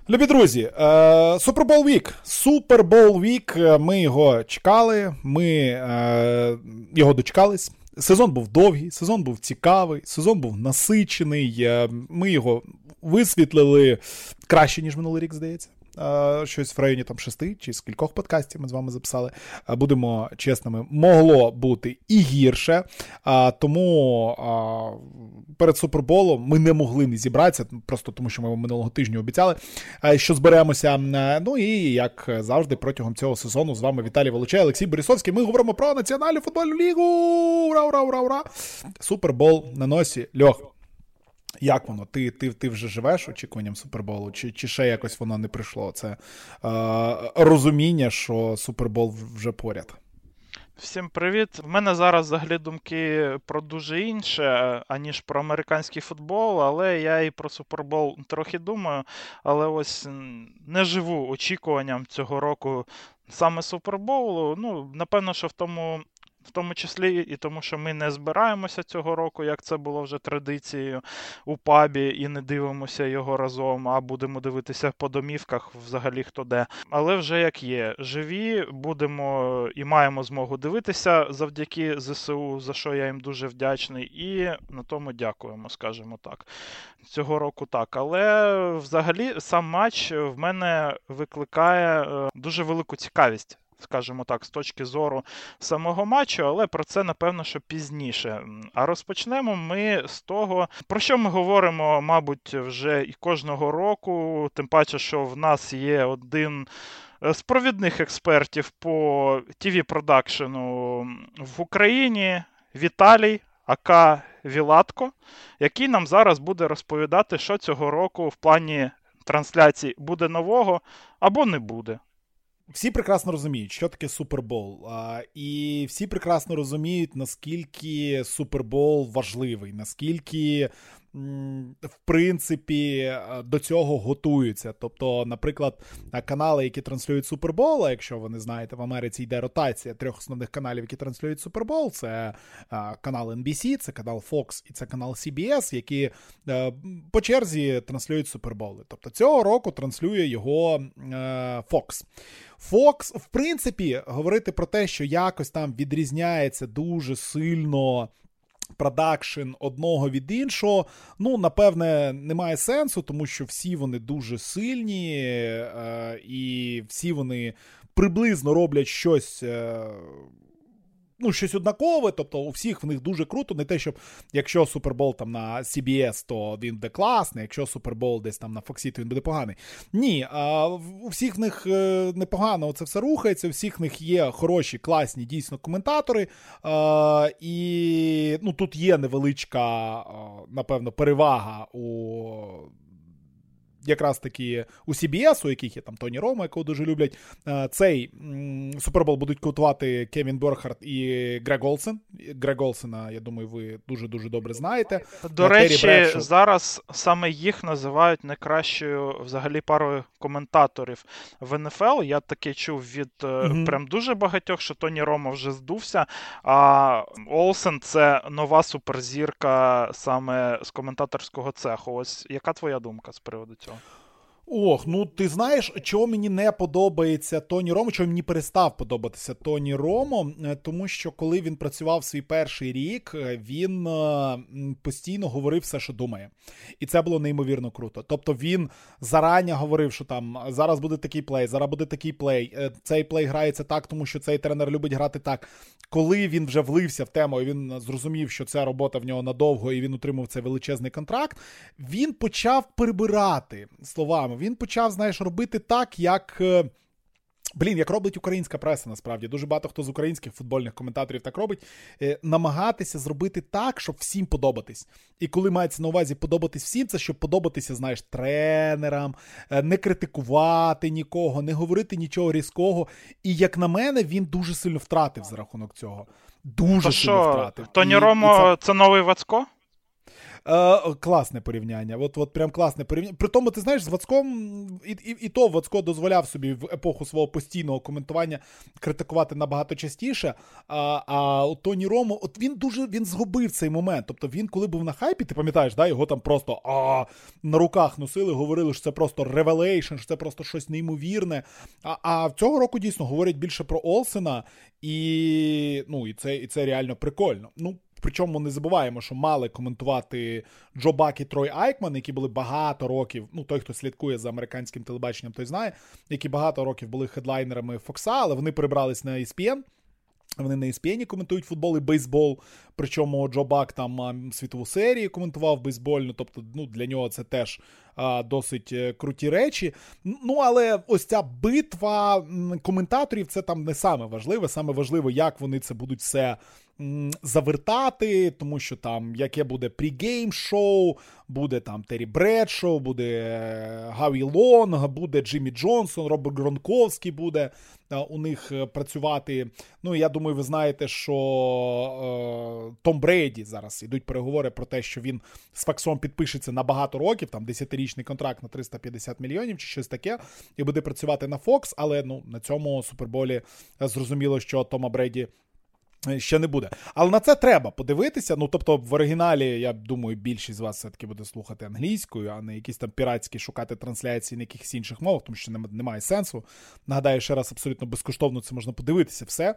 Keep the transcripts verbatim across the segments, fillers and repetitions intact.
Любі друзі, Супербол Вік, Супербол Вік, ми його чекали, ми е, його дочекались. Сезон був довгий, сезон був цікавий, сезон був насичений, ми його висвітлили краще, ніж минулий рік, здається. Щось в районі там шести чи з кількох подкастів ми з вами записали. Будемо чесними, могло бути і гірше. Тому перед Суперболом ми не могли не зібратися, просто тому що ми минулого тижня обіцяли, що зберемося. Ну і, як завжди, протягом цього сезону з вами Віталій Волочай, Олексій Борисовський. Ми говоримо про Національну футбольну лігу. Ура, ура, ура, ура! Супербол на носі. Льох, як воно? Ти, ти, ти вже живеш очікуванням Суперболу? Чи, чи ще якось воно не прийшло? Це е, розуміння, що Супербол вже поряд? Всім привіт. В мене зараз взагалі думки про дуже інше, аніж про американський футбол, але я і про Супербол трохи думаю, але ось не живу очікуванням цього року саме Суперболу. Ну, напевно, що в тому... В тому числі і тому, що ми не збираємося цього року, як це було вже традицією у пабі, і не дивимося його разом, а будемо дивитися по домівках взагалі хто де. Але вже як є. Живі, будемо і маємо змогу дивитися завдяки ЗСУ, за що я їм дуже вдячний, і на тому дякуємо, скажімо так. Цього року так. Але взагалі сам матч в мене викликає дуже велику цікавість, скажімо так, з точки зору самого матчу, але про це, напевно, що пізніше. А розпочнемо ми з того, про що ми говоримо, мабуть, вже і кожного року, тим паче, що в нас є один з провідних експертів по ті ві-продакшену в Україні, Віталій, ака Вілатко, який нам зараз буде розповідати, що цього року в плані трансляцій буде нового або не буде. Всі прекрасно розуміють, що таке Супербол, і всі прекрасно розуміють, наскільки Супербол важливий, наскільки, в принципі, до цього готуються. Тобто, наприклад, канали, які транслюють Супербол, а якщо ви не знаєте, в Америці йде ротація трьох основних каналів, які транслюють Супербол, це канал ен бі сі, це канал Fox і це канал сі бі ес, які по черзі транслюють Суперболи. Тобто, цього року транслює його Fox. Fox, в принципі, говорити про те, що якось там відрізняється дуже сильно продакшн одного від іншого, ну, напевне, немає сенсу, тому що всі вони дуже сильні, е- і всі вони приблизно роблять щось... Е- Ну, щось однакове, тобто у всіх в них дуже круто, не те, щоб якщо Супербол там на сі бі ес, то він буде класний, якщо Супербол десь там на Фоксі, то він буде поганий. Ні, а у всіх в них непогано це все рухається, у всіх в них є хороші, класні, дійсно, коментатори, а, і ну, тут є невеличка, напевно, перевага у... якраз таки у сі бі ес, у яких є там Тоні Ромо, якого дуже люблять, цей Супербол будуть котувати Кевін Бёрхард і Грег Олсен. Грег Олсена, я думаю, ви дуже-дуже добре знаєте. До речі, Бредшоу. Зараз саме їх називають найкращою взагалі парою коментаторів в ен еф ел. Я таке чув від mm-hmm. прям дуже багатьох, що Тоні Ромо вже здувся, а Олсен – це нова суперзірка саме з коментаторського цеху. Ось яка твоя думка з приводу цього? Ох, ну ти знаєш, чого мені не подобається Тоні Ромо, чого мені перестав подобатися Тоні Ромо, тому що коли він працював свій перший рік, він постійно говорив все, що думає. І це було неймовірно круто. Тобто він зарані говорив, що там зараз буде такий плей, зараз буде такий плей, цей плей грається так, тому що цей тренер любить грати так. Коли він вже влився в тему, і він зрозумів, що ця робота в нього надовго, і він отримав цей величезний контракт, він почав перебирати словами. Він почав, знаєш, робити так, як, блін, як робить українська преса, насправді. Дуже багато хто з українських футбольних коментаторів так робить. Намагатися зробити так, щоб всім подобатись. І коли мається на увазі подобатись всім, це щоб подобатися, знаєш, тренерам, не критикувати нікого, не говорити нічого різкого. І, як на мене, він дуже сильно втратив за рахунок цього. Дуже То сильно що, втратив. Тоні і, Ромо і це... це новий Вацко? Е, класне порівняння. От, от прям класне порівняння. При тому, ти знаєш, з Вацком, і, і, і то Вацко дозволяв собі в епоху свого постійного коментування критикувати набагато частіше. А, а Тоні Ромо, от він дуже, він згубив цей момент. Тобто він, коли був на хайпі, ти пам'ятаєш, да, його там просто а, на руках носили, говорили, що це просто ревелейшн, що це просто щось неймовірне. А, а цього року дійсно говорять більше про Олсена, і, ну, і, це, і це реально прикольно. Ну, причому не забуваємо, що мали коментувати Джо Бак і Трой Айкман, які були багато років, ну той, хто слідкує за американським телебаченням, той знає, які багато років були хедлайнерами Фокса, але вони перебрались на і ес пі ен. Вони на і ес пі ен коментують футбол і бейсбол, причому Джо Бак там світову серію коментував бейсбольну, тобто ну, для нього це теж а, досить круті речі. Ну, але ось ця битва коментаторів, це там не саме важливе, саме важливо, як вони це будуть все завертати, тому що там яке буде прігейм-шоу, буде там Террі Бредшоу, буде Гаві Лонг, буде Джиммі Джонсон, Роберт Гронковський буде а, у них працювати. Ну, я думаю, ви знаєте, що е, Том Брейді зараз ідуть переговори про те, що він з Фоксом підпишеться на багато років, там десятирічний контракт на триста п'ятдесят мільйонів чи щось таке, і буде працювати на Фокс, але ну, на цьому Суперболі зрозуміло, що Тома Брейді ще не буде. Але на це треба подивитися. Ну, тобто, в оригіналі, я думаю, більшість з вас все-таки буде слухати англійською, а не якісь там піратські шукати трансляції на якихось інших мовах, тому що немає сенсу. Нагадаю, ще раз, абсолютно безкоштовно це можна подивитися все.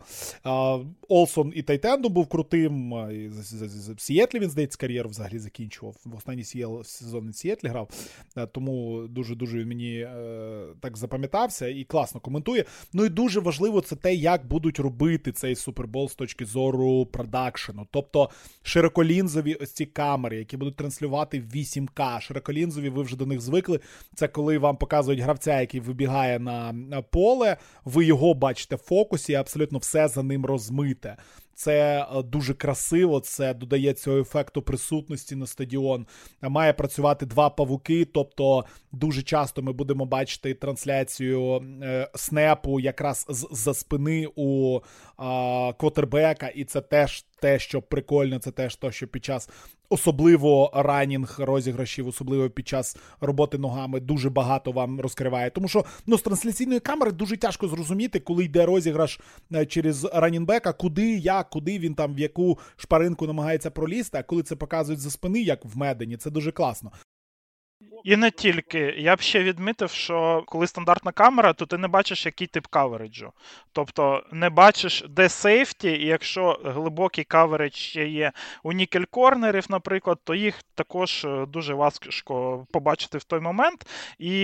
Олсон і Тайтенду був крутим. В Сіетлі він, здається, кар'єру взагалі закінчував. В останній сезон в Сіетлі грав. Тому дуже-дуже він мені так запам'ятався і класно коментує. Ну і дуже важливо це те, як будуть робити цей Супербол з точки зору продакшену. Тобто широколінзові ось ці камери, які будуть транслювати в вісім ка. Широколінзові, ви вже до них звикли. Це коли вам показують гравця, який вибігає на поле, ви його бачите в фокусі, і абсолютно все за ним розмите. Це дуже красиво, це додає цього ефекту присутності на стадіон. Має працювати два павуки, тобто дуже часто ми будемо бачити трансляцію е, снепу якраз з-за спини у е, квотербека, і це теж те, що прикольно, це теж те, що під час особливо ранінг розіграшів, особливо під час роботи ногами дуже багато вам розкриває. Тому що ну, з трансляційної камери дуже тяжко зрозуміти, коли йде розіграш через ранінбека, куди, як, куди він там, в яку шпаринку намагається пролізти, а коли це показують за спини, як в Медені, це дуже класно. І не тільки. Я б ще відмітив, що коли стандартна камера, то ти не бачиш, який тип кавериджу. Тобто не бачиш, де сейфті, і якщо глибокий каверидж ще є у нікель-корнерів, наприклад, то їх також дуже важко побачити в той момент. І,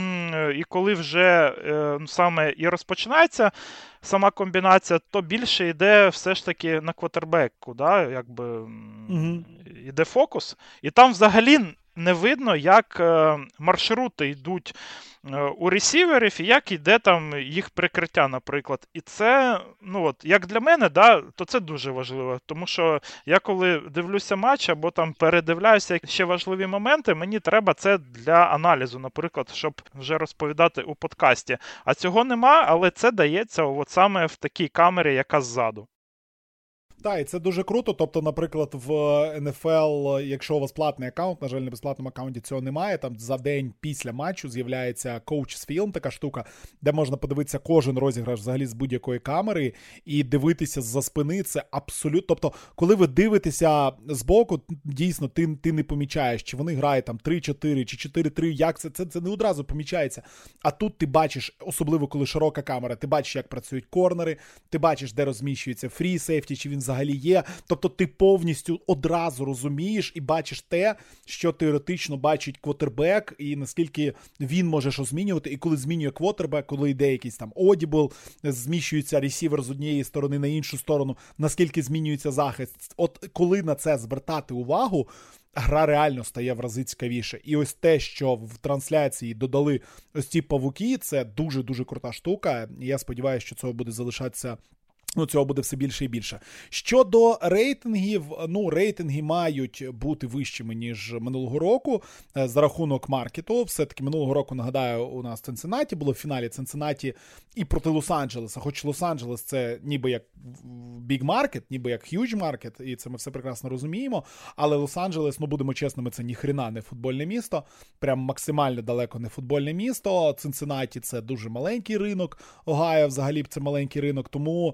і коли вже саме і розпочинається сама комбінація, то більше йде все ж таки на квотербеку, да? Якби угу. Йде фокус. І там взагалі не видно, як е, маршрути йдуть е, у ресіверів і як йде там їх прикриття, наприклад. І це, ну от, як для мене, да, то це дуже важливо. Тому що я коли дивлюся матч або там передивляюся ще важливі моменти, мені треба це для аналізу, наприклад, щоб вже розповідати у подкасті. А цього нема, але це дається от саме в такій камері, яка ззаду. Так, і це дуже круто, тобто, наприклад, в ен еф ел, якщо у вас платний аккаунт, на жаль, на безплатному аккаунті цього немає, там за день після матчу з'являється Coach's Film, така штука, де можна подивитися кожен розіграш взагалі з будь-якої камери і дивитися з-за спини, це абсолютно, тобто, коли ви дивитеся збоку, дійсно, ти, ти не помічаєш, чи вони грають там три-чотири, чи чотири-три, як це, це, це не одразу помічається, а тут ти бачиш, особливо коли широка камера, ти бачиш, як працюють корнери, ти бачиш, де розміщується фрі сейфті, чи він взагалі є. Тобто ти повністю одразу розумієш і бачиш те, що теоретично бачить квотербек, і наскільки він може що змінювати. І коли змінює квотербек, коли йде якийсь там одібл, зміщується ресівер з однієї сторони на іншу сторону, наскільки змінюється захист. От коли на це звертати увагу, гра реально стає в рази цікавіше. І ось те, що в трансляції додали ось ці павуки, це дуже-дуже крута штука. І я сподіваюся, що цього буде залишатися Ну, цього буде все більше і більше. Щодо рейтингів, ну, рейтинги мають бути вищими, ніж минулого року за рахунок маркету. Все-таки минулого року, нагадаю, у нас Цинциннаті було в фіналі Цинциннаті і проти Лос-Анджелеса. Хоч Лос-Анджелес це ніби як big market, ніби як huge market, і це ми все прекрасно розуміємо. Але Лос-Анджелес, ну, будемо чесними, це ніхрена не футбольне місто. Прям максимально далеко не футбольне місто. Цинциннаті це дуже маленький ринок. Огайо взагалі це маленький ринок. Тому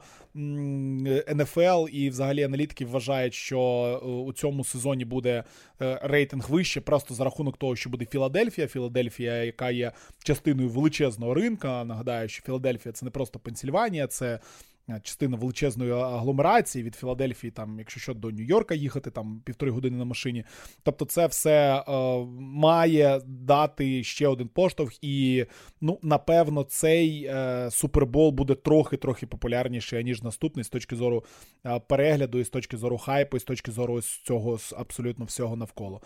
ен еф ел і взагалі аналітики вважають, що у цьому сезоні буде рейтинг вище просто за рахунок того, що буде Філадельфія. Філадельфія, яка є частиною величезного ринка. Нагадаю, що Філадельфія – це не просто Пенсільванія, це частина величезної агломерації від Філадельфії, там, якщо що, до Нью-Йорка їхати, там, півтори години на машині. Тобто це все е, має дати ще один поштовх і, ну, напевно, цей е, Супербол буде трохи-трохи популярніший, ніж наступний з точки зору е, перегляду, і з точки зору хайпу, і з точки зору цього абсолютно всього навколо.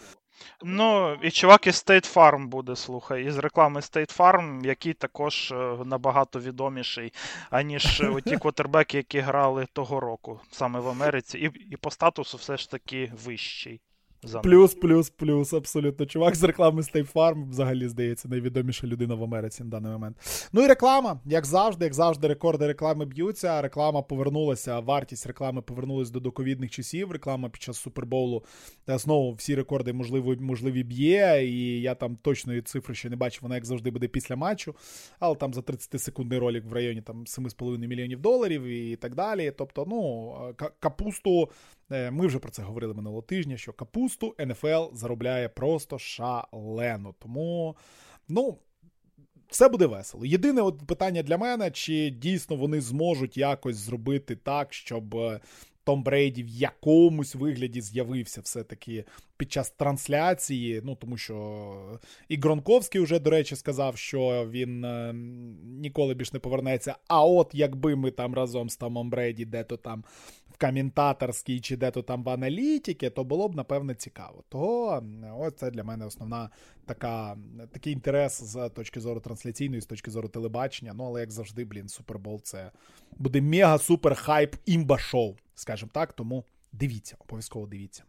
Ну, і чувак із State Farm буде, слухай, із реклами State Farm, який також набагато відоміший, аніж ті квотербеки, які грали того року, саме в Америці, і, і по статусу все ж таки вищий. Плюс, плюс, плюс, абсолютно. Чувак з реклами State Farm, взагалі, здається, найвідоміша людина в Америці на даний момент. Ну і реклама, як завжди, як завжди, рекорди реклами б'ються, реклама повернулася, вартість реклами повернулася до доковідних часів, реклама під час Супербоулу знову всі рекорди можливі, можливі б'є, і я там точної цифри ще не бачу, вона як завжди буде після матчу, але там за тридцятисекундний ролик в районі там сім з половиною мільйонів доларів і так далі. Тобто, ну, капусту, ми вже про це говорили минулого тижня, що капусту ен еф ел заробляє просто шалено. Тому, ну, все буде весело. Єдине от питання для мене, чи дійсно вони зможуть якось зробити так, щоб Том Брейді в якомусь вигляді з'явився все-таки під час трансляції, ну, тому що і Гронковський вже, до речі, сказав, що він е, ніколи більш не повернеться, а от якби ми там разом з Томом Брейді де-то там в коментаторській чи де-то там в аналітиці, то було б, напевне, цікаво. Того, ось це для мене основна така, такий інтерес з точки зору трансляційної, з точки зору телебачення, ну, але як завжди, блін, Супербол це буде мега-супер-хайп імба-шоу, скажімо так, тому дивіться, обов'язково дивіться.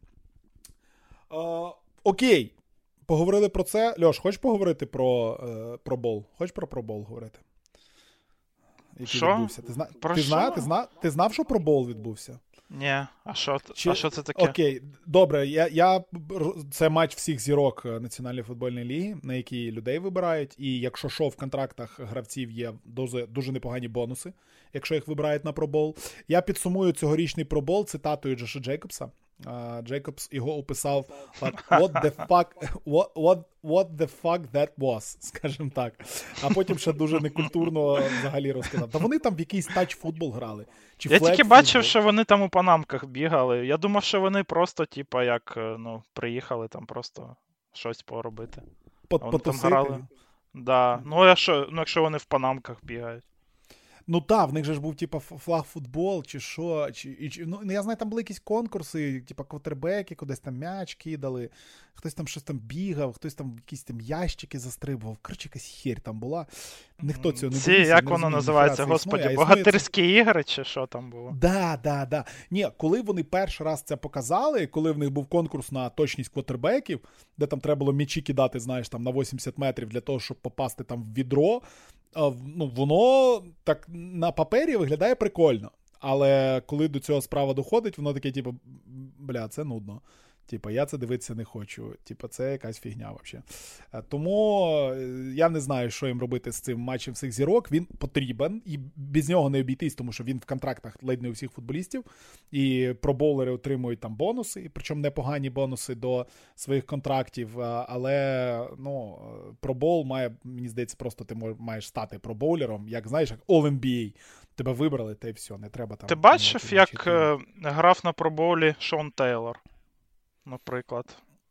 Uh, окей, поговорили про це. Льош, хочеш поговорити про uh, про бол? Хочеш про пробол говорити? Який що? відбувся? Ти, зна... Про ти, що? зна... Ти, зна... Ти знав, що пробол відбувся? Ні, а що, Чи... а що це таке? Окей, добре, я, я... це матч всіх зірок Національної футбольної ліги, на які людей вибирають, і якщо що, в контрактах гравців є дуже, дуже непогані бонуси, якщо їх вибирають на пробол. Я підсумую цьогорічний пробол цитатою Джоша Джейкобса. Uh, Джейкобс його описав like, what the fuck what, what, what the fuck that was, скажімо так. А потім ще дуже некультурно взагалі розказав. Та вони там в якийсь тач-футбол грали. Чи я тільки бачив, що вони там у панамках бігали. Я думав, що вони просто, типа, як, ну, приїхали там просто щось поробити. Потусити? Да. Ну, а що, ну, якщо вони в панамках бігають. Ну так, в них же ж був, типа, флаг-футбол, чи що, чи, чи, ну, я знаю, там були якісь конкурси, типа, квотербеки, кудись там м'яч кидали, хтось там щось там бігав, хтось там якісь там ящики застрибував, коротше, якась херь там була, ніхто цього не Ці, дивився. як не воно розумів, називається, господі, існує, богатирські існує... ігри, чи що там було? Да, да, да. Ні, коли вони перший раз це показали, коли в них був конкурс на точність квотербеків, де там треба було м'ячі кидати, знаєш, там на вісімдесят метрів для того, щоб попасти там в відро, ну, воно так на папері виглядає прикольно. Але коли до цього справа доходить, воно таке, типу, бля, це нудно. Типа, я це дивитися не хочу. Типа, це якась фігня взагалі. Тому я не знаю, що їм робити з цим матчем всіх зірок. Він потрібен, і без нього не обійтись, тому що він в контрактах ледь не у всіх футболістів. І пробоулери отримують там бонуси, причому непогані бонуси до своїх контрактів. Але, ну, пробол має, мені здається, просто ти маєш стати пробоулером, як, знаєш, як All-ен бі ей. Тебе вибрали, та й все, не треба там... Ти бачив, як е, грав на пробоулі Шон Тейлор? Наприклад.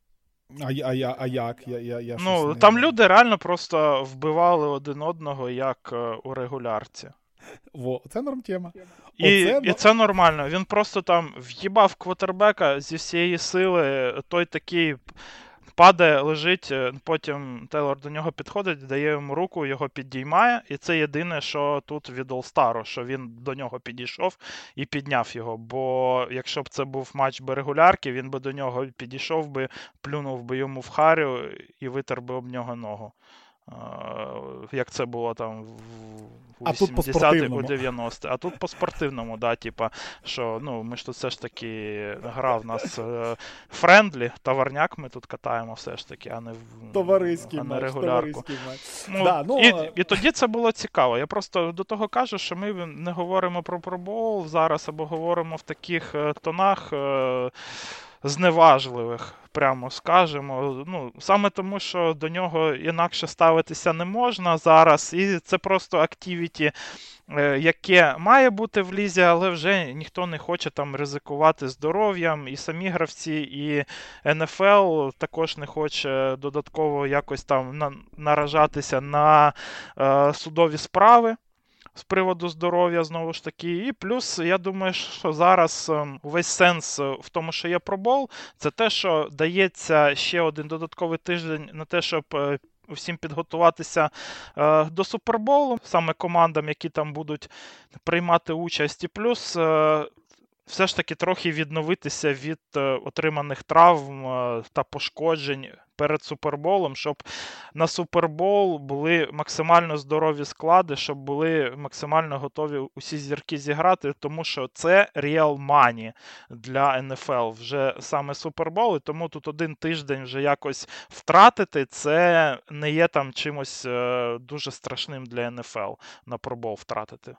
А, а, а, а як? Я, я, я ну, не... там люди реально просто вбивали один одного, як е, у регулярці. Во, це норм-тема. І, Оце... і це нормально. Він просто там в'їбав квотербека зі всієї сили, той такий падає, лежить, потім Тейлор до нього підходить, дає йому руку, його підіймає, і це єдине, що тут від All-Star, що він до нього підійшов і підняв його, бо якщо б це був матч би регулярки, він би до нього підійшов би, плюнув би йому в харю і витер би об нього ногу. Як це було там в вісімдесятих, у дев'яностих. А тут по-спортивному, да, типа, що, ну, ми ж тут все ж таки гра в нас френдлі, товарняк ми тут катаємо все ж таки, а не, товариський а не матч, регулярку. матч. Ну, да, ну... І, і тоді це було цікаво. Я просто до того кажу, що ми не говоримо про пробол зараз, або говоримо в таких тонах зневажливих, прямо скажемо. Ну, саме тому, що до нього інакше ставитися не можна зараз, і це просто активіті, яке має бути в лізі, але вже ніхто не хоче там ризикувати здоров'ям, і самі гравці, і ен еф ел також не хоче додатково якось там на, наражатися на е, судові справи з приводу здоров'я, знову ж таки. І плюс, я думаю, що зараз увесь сенс в тому, що є пробол, це те, що дається ще один додатковий тиждень на те, щоб всім підготуватися е, до Суперболу, саме командам, які там будуть приймати участь. І плюс е, все ж таки трохи відновитися від е, отриманих травм е, та пошкоджень перед Суперболом, щоб на Супербол були максимально здорові склади, щоб були максимально готові усі зірки зіграти, тому що це real money для ен еф ел, вже саме Супербол, і тому тут один тиждень вже якось втратити, це не є там чимось е, дуже страшним для ен еф ел на пробол втратити.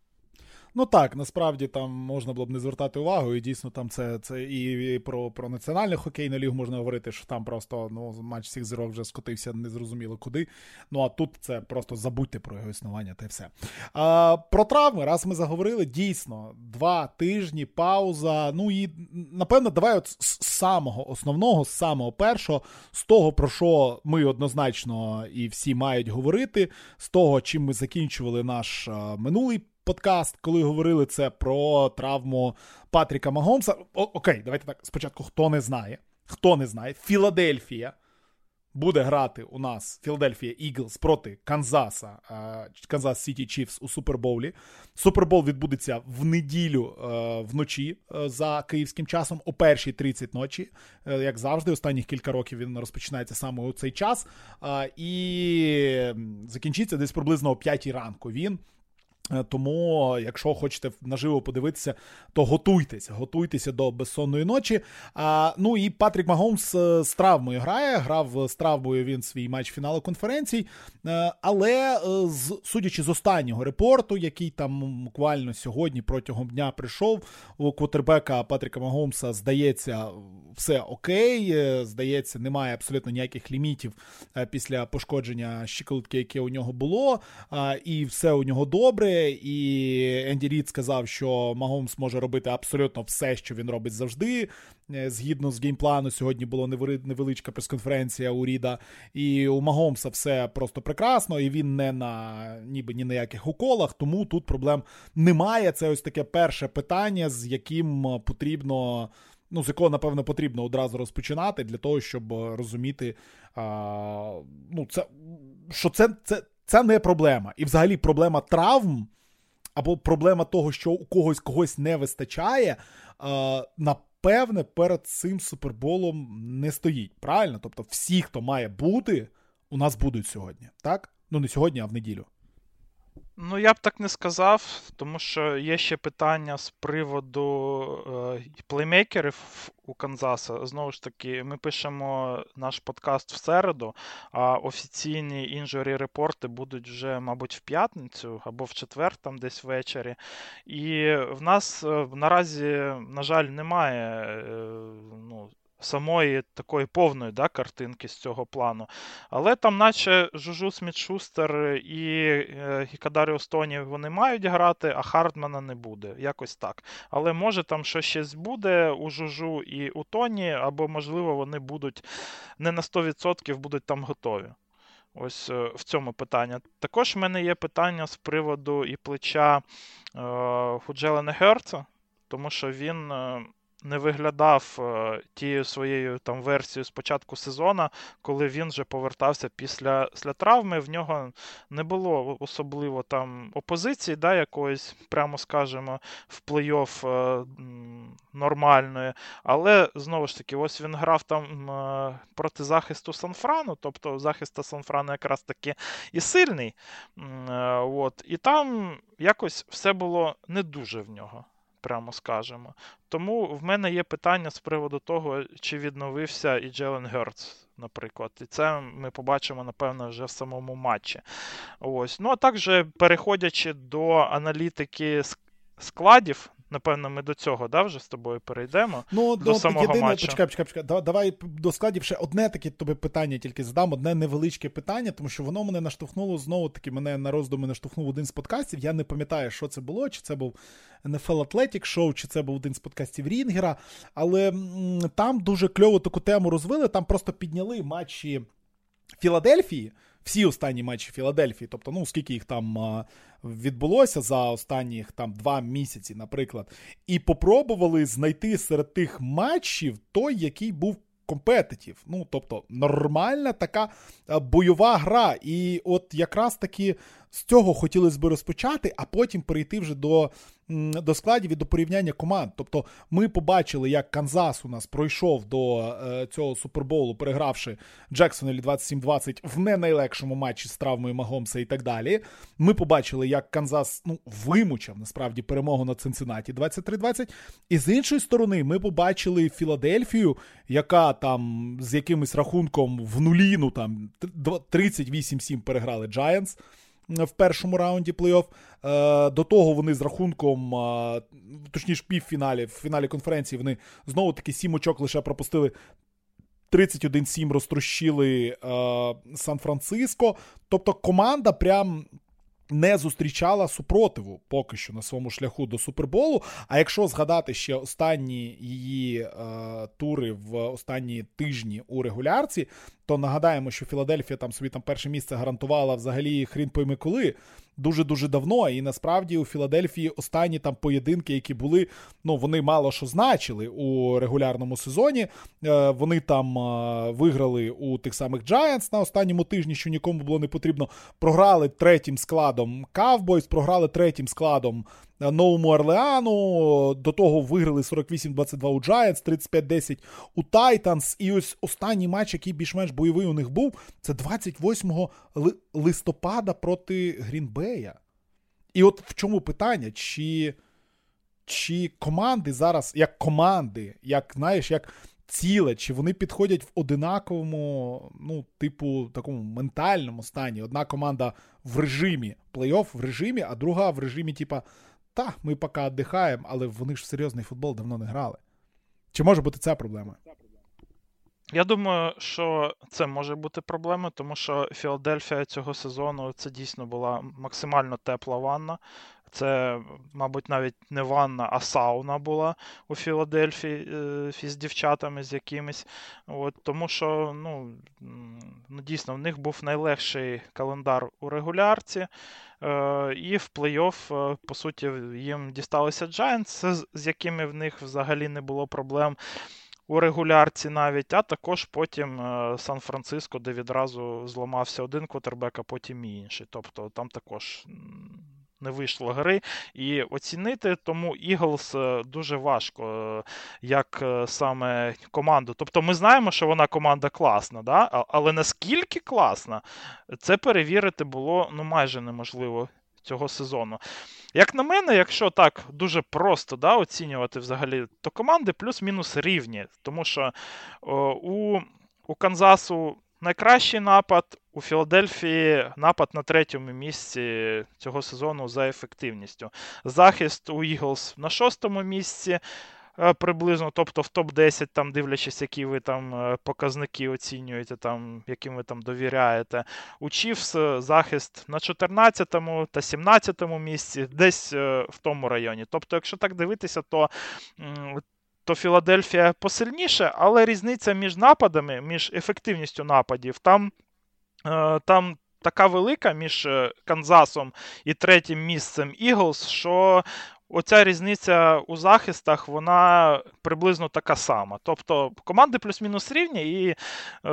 Ну так, насправді там можна було б не звертати увагу, і дійсно там це, це і про, про національну хокейну лігу можна говорити, що там просто ну, матч всіх зірок вже скотився незрозуміло куди. Ну а тут це просто забудьте про його існування та й все. А, про травми, раз ми заговорили, дійсно, два тижні, пауза, ну і напевно давай от з самого основного, з самого першого, з того, про що ми однозначно і всі мають говорити, з того, чим ми закінчували наш а, минулий подкаст, коли говорили це про травму Патріка Магомса. О, окей, давайте так, спочатку, хто не знає. Хто не знає, Філадельфія буде грати у нас, Філадельфія Іглс проти Канзаса, Канзас Сіті Чіфс у Супербоулі. Супербол відбудеться в неділю вночі за київським часом о першій тридцять ночі. Як завжди, останніх кілька років він розпочинається саме у цей час. І закінчиться десь приблизно о п'ятій ранку він. Тому, якщо хочете наживо подивитися, то готуйтесь, готуйтеся до безсонної ночі. А, ну і Патрік Магомс з травмою грає, грав з травмою він свій матч фіналу конференцій, але з, судячи з останнього репорту, який там буквально сьогодні протягом дня прийшов, у квотербека Патріка Магомса, здається, все окей, здається, немає абсолютно ніяких лімітів після пошкодження щиколотки, яке у нього було, і все у нього добре. І Енді Рід сказав, що Магомс може робити абсолютно все, що він робить завжди. Згідно з геймплану, сьогодні була невеличка прес-конференція у Ріда, і у Магомса все просто прекрасно, і він не на ніби ні на яких уколах, тому тут проблем немає. Це ось таке перше питання, з яким потрібно, ну, з якого, напевно, потрібно одразу розпочинати, для того, щоб розуміти, а, ну, це, що це, це Це не проблема. І взагалі проблема травм або проблема того, що у когось когось не вистачає, напевне, перед цим Суперболом не стоїть. Правильно? Тобто всі, хто має бути, у нас будуть сьогодні. Так? Ну не сьогодні, а в неділю. Ну, я б так не сказав, тому що є ще питання з приводу е, плеймейкерів у Канзаса. Знову ж таки, ми пишемо наш подкаст в середу, а офіційні інжурі репорти будуть вже, мабуть, в п'ятницю або в четвер, там десь ввечері. І в нас е, наразі, на жаль, немає е, ну, самої такої повної, да, картинки з цього плану. Але там наче Жужу Сміт-Шустер і, і Кадаріус Тоні вони мають грати, а Хардмана не буде. Якось так. Але може там щось ще буде у Жужу і у Тоні, або можливо вони будуть не на сто відсотків будуть там готові. Ось в цьому питання. Також в мене є питання з приводу і плеча е, у Джелена Герца, тому що він... Е, не виглядав е, тією своєю там версією з початку сезону, коли він вже повертався після, після травми. В нього не було особливо там опозиції, да, якоїсь, прямо скажемо, в плей-офф е, нормальної. Але, знову ж таки, ось він грав там е, проти захисту Сан-Франу, тобто захист Сан-Франу якраз таки і сильний. Е, от, і там якось все було не дуже в нього, прямо скажемо. Тому в мене є питання з приводу того, чи відновився і Джелен Гертс, наприклад. І це ми побачимо, напевно, вже в самому матчі. Ось. Ну, а також, переходячи до аналітики складів, напевно, ми до цього, да, вже з тобою перейдемо, ну, до ну, самого єдине, матчу. Почекай, почекай, почекай. Давай до складів ще одне таке тобі питання тільки задам, одне невеличке питання, тому що воно мене наштовхнуло, знову-таки, мене на роздуми наштовхнув один з подкастів. Я не пам'ятаю, що це було, чи це був ен еф ел Athletic Show, чи це був один з подкастів Рінгера, але м, там дуже кльово таку тему розвили, там просто підняли матчі Філадельфії, всі останні матчі Філадельфії, тобто, ну, скільки їх там а, відбулося за останніх там два місяці, наприклад, і попробували знайти серед тих матчів той, який був компетитив. Ну, тобто, нормальна така а, бойова гра. І от якраз таки з цього хотілося б розпочати, а потім перейти вже до, до складів і до порівняння команд. Тобто ми побачили, як Канзас у нас пройшов до е, цього Супербоулу, перегравши Джексонвілі двадцять сім двадцять в не найлегшому матчі з травмою Магомса і так далі. Ми побачили, як Канзас, ну, вимучав, насправді, перемогу над Цинциннаті двадцять три двадцять. І з іншої сторони ми побачили Філадельфію, яка там з якимось рахунком в нулі, ну там тридцять вісім сім переграли Giants в першому раунді плей-офф. До того вони з рахунком, точніше в півфіналі, в фіналі конференції вони знову-таки сім очок лише пропустили, тридцять один сім розтрощили Сан-Франциско. Тобто команда прям не зустрічала супротиву поки що на своєму шляху до Суперболу. А якщо згадати ще останні її е, тури в останні тижні у регулярці, то нагадаємо, що Філадельфія там собі там перше місце гарантувала взагалі хрін пойми коли, дуже-дуже давно, і насправді у Філадельфії останні там поєдинки, які були, ну, вони мало що значили у регулярному сезоні. Е, вони там е, виграли у тих самих Giants на останньому тижні, що нікому було не потрібно. Програли третім складом Cowboys, програли третім складом Новому Орлеану, до того виграли сорок вісім двадцять два у Giants, тридцять п'ять десять у Titans, і ось останній матч, який більш-менш бойовий у них був, це двадцять восьмого листопада проти Грінбея. І от в чому питання, чи, чи команди зараз, як команди, як, знаєш, як ціле, чи вони підходять в одинаковому, ну, типу, такому ментальному стані. Одна команда в режимі плей-офф, в режимі, а друга в режимі, типа, та, ми поки віддихаємо, але вони ж в серйозний футбол давно не грали. Чи може бути ця проблема? Я думаю, що це може бути проблемою, тому що Філадельфія цього сезону це дійсно була максимально тепла ванна. Це, мабуть, навіть не ванна, а сауна була у Філадельфії е, з дівчатами з якимись. От, тому що, ну, ну, дійсно, в них був найлегший календар у регулярці. Е, і в плей-офф, е, по суті, їм дісталися Giants, з, з якими в них взагалі не було проблем у регулярці навіть, а також потім е, Сан-Франциско, де відразу зламався один квотербек, а потім і інший. Тобто там також не вийшло гри і оцінити, тому Eagles дуже важко, як саме команду. Тобто ми знаємо, що вона команда класна, да? Але наскільки класна, це перевірити було, ну, майже неможливо цього сезону. Як на мене, якщо так дуже просто, да, оцінювати взагалі, то команди плюс-мінус рівні, тому що о, у, у Канзасу найкращий напад, у Філадельфії напад на третьому місці цього сезону за ефективністю. Захист у Eagles на шостому місці приблизно, тобто в топ десять, там, дивлячись, які ви там показники оцінюєте, там, яким ви там довіряєте. У Chiefs захист на чотирнадцятому та сімнадцятому місці, десь в тому районі. Тобто, якщо так дивитися, то то Філадельфія посильніше, але різниця між нападами, між ефективністю нападів, там, там така велика між Канзасом і третім місцем Eagles, що оця різниця у захистах, вона приблизно така сама. Тобто команди плюс-мінус рівні, і, е,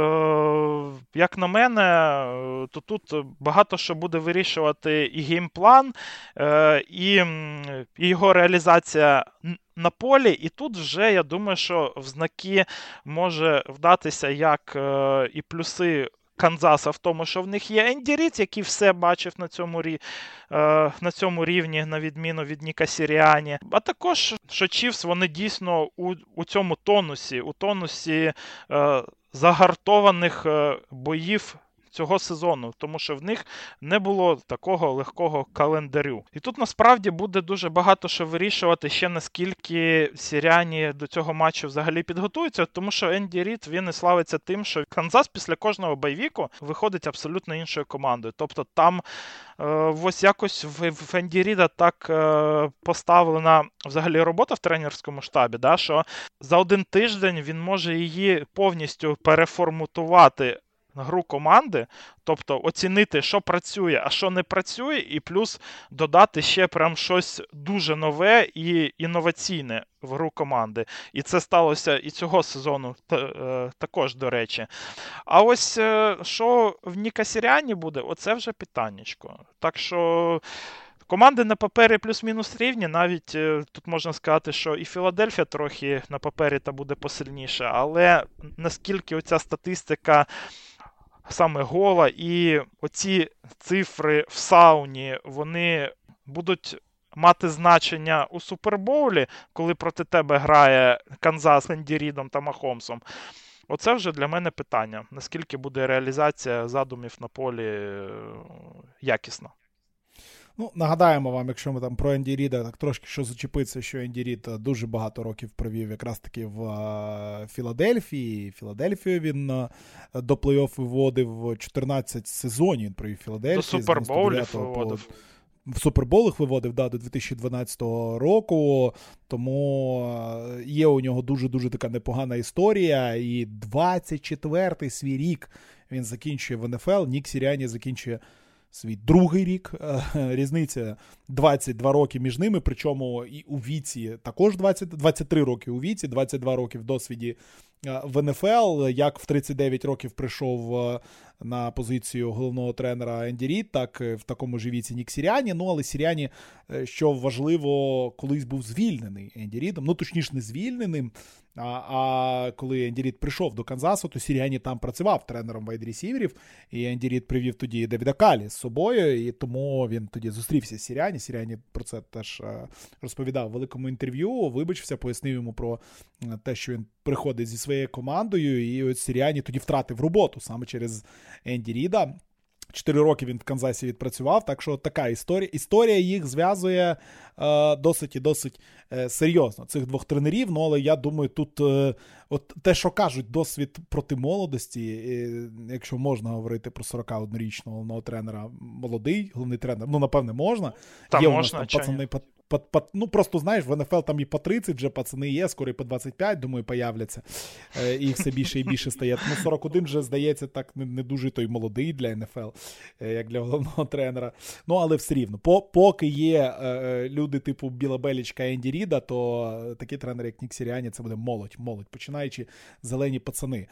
як на мене, то тут багато що буде вирішувати і геймплан, е, і, і його реалізація на полі. І тут вже, я думаю, що в знаки може вдатися як е, і плюси Канзаса в тому, що в них є Енді Рід, який все бачив на цьому, рі... на цьому рівні, на відміну від Ніка Сіріані. А також, що Чіфс, вони дійсно у, у цьому тонусі, у тонусі е, загартованих е, боїв цього сезону, тому що в них не було такого легкого календарю. І тут насправді буде дуже багато що вирішувати ще, наскільки Сіріані до цього матчу взагалі підготуються, тому що Енді Рід, він і славиться тим, що Канзас після кожного бойвіку виходить абсолютно іншою командою. Тобто там е, ось якось в, в Енді Ріда так е, поставлена взагалі робота в тренерському штабі, да, що за один тиждень він може її повністю переформатувати гру команди, тобто оцінити, що працює, а що не працює, і плюс додати ще прям щось дуже нове і інноваційне в гру команди. І це сталося і цього сезону також, до речі. А ось що в Ніка Сіріані буде, оце вже питаннячко. Так що команди на папері плюс-мінус рівні, навіть тут можна сказати, що і Філадельфія трохи на папері та буде посильніше, але наскільки оця статистика саме гола і оці цифри в сауні, вони будуть мати значення у Супербоулі, коли проти тебе грає Канзас з Енді Рідом та Махомсом. Оце вже для мене питання, наскільки буде реалізація задумів на полі якісна. Ну, нагадаємо вам, якщо ми там про Енді Ріда так трошки що зачепиться, що Енді Рід дуже багато років провів якраз таки в Філадельфії. Філадельфію він до плей-офф виводив чотирнадцять сезонів, він провів Філадельфії. До Супербоулів виводив. В Суперболах виводив, да, до дві тисячі дванадцятого року, тому є у нього дуже-дуже така непогана історія, і двадцять четвертий свій рік він закінчує в ен еф ел, Нік Сіріані закінчує свій другий рік, різниця двадцять два роки між ними, причому і у віці також двадцять, двадцять три роки у віці, двадцять два роки в досвіді в ен еф ел, як в тридцять дев'ять років прийшов на позицію головного тренера Енді Рід, так в такому ж віці Нік Сіріані, ну але Сіріані, що важливо, колись був звільнений Енді Рідом, ну точніше не звільненим, а, а коли Енді Рід прийшов до Канзасу, то Сіріані там працював тренером вайд-ресіверів, і Енді Рід привів тоді Девіда Калі з собою, і тому він тоді зустрівся з Сіріані, Сіріані про це теж розповідав в великому інтерв'ю, вибачився, пояснив йому про те, що він приходить зі своєю командою, і ось Сіріані тоді втратив роботу саме через Енді Ріда. Чотири роки він в Канзасі відпрацював, так що така історія. Історія їх зв'язує е, досить і досить е, серйозно, цих двох тренерів, ну, але я думаю, тут е, от те, що кажуть, досвід проти молодості, е, якщо можна говорити про сорокаоднорічного головного тренера, молодий головний тренер, ну, напевне, можна. Там є можна, у нас там пацани, по, по, по, ну, просто, знаєш, в ен еф ел там і по тридцять вже пацани є, скоро і по двадцять п'ять, думаю, появляться, е, і все більше і більше стає. Тому сорок один вже, здається, так не, не дуже той молодий для ен еф ел, е, як для головного тренера. Ну, але все рівно. По, поки є е, люди типу Біла Белічка і Енді Ріда, то такі тренери, як Нік Сіріані, це буде молодь, молодь, починаючи зелені пацани.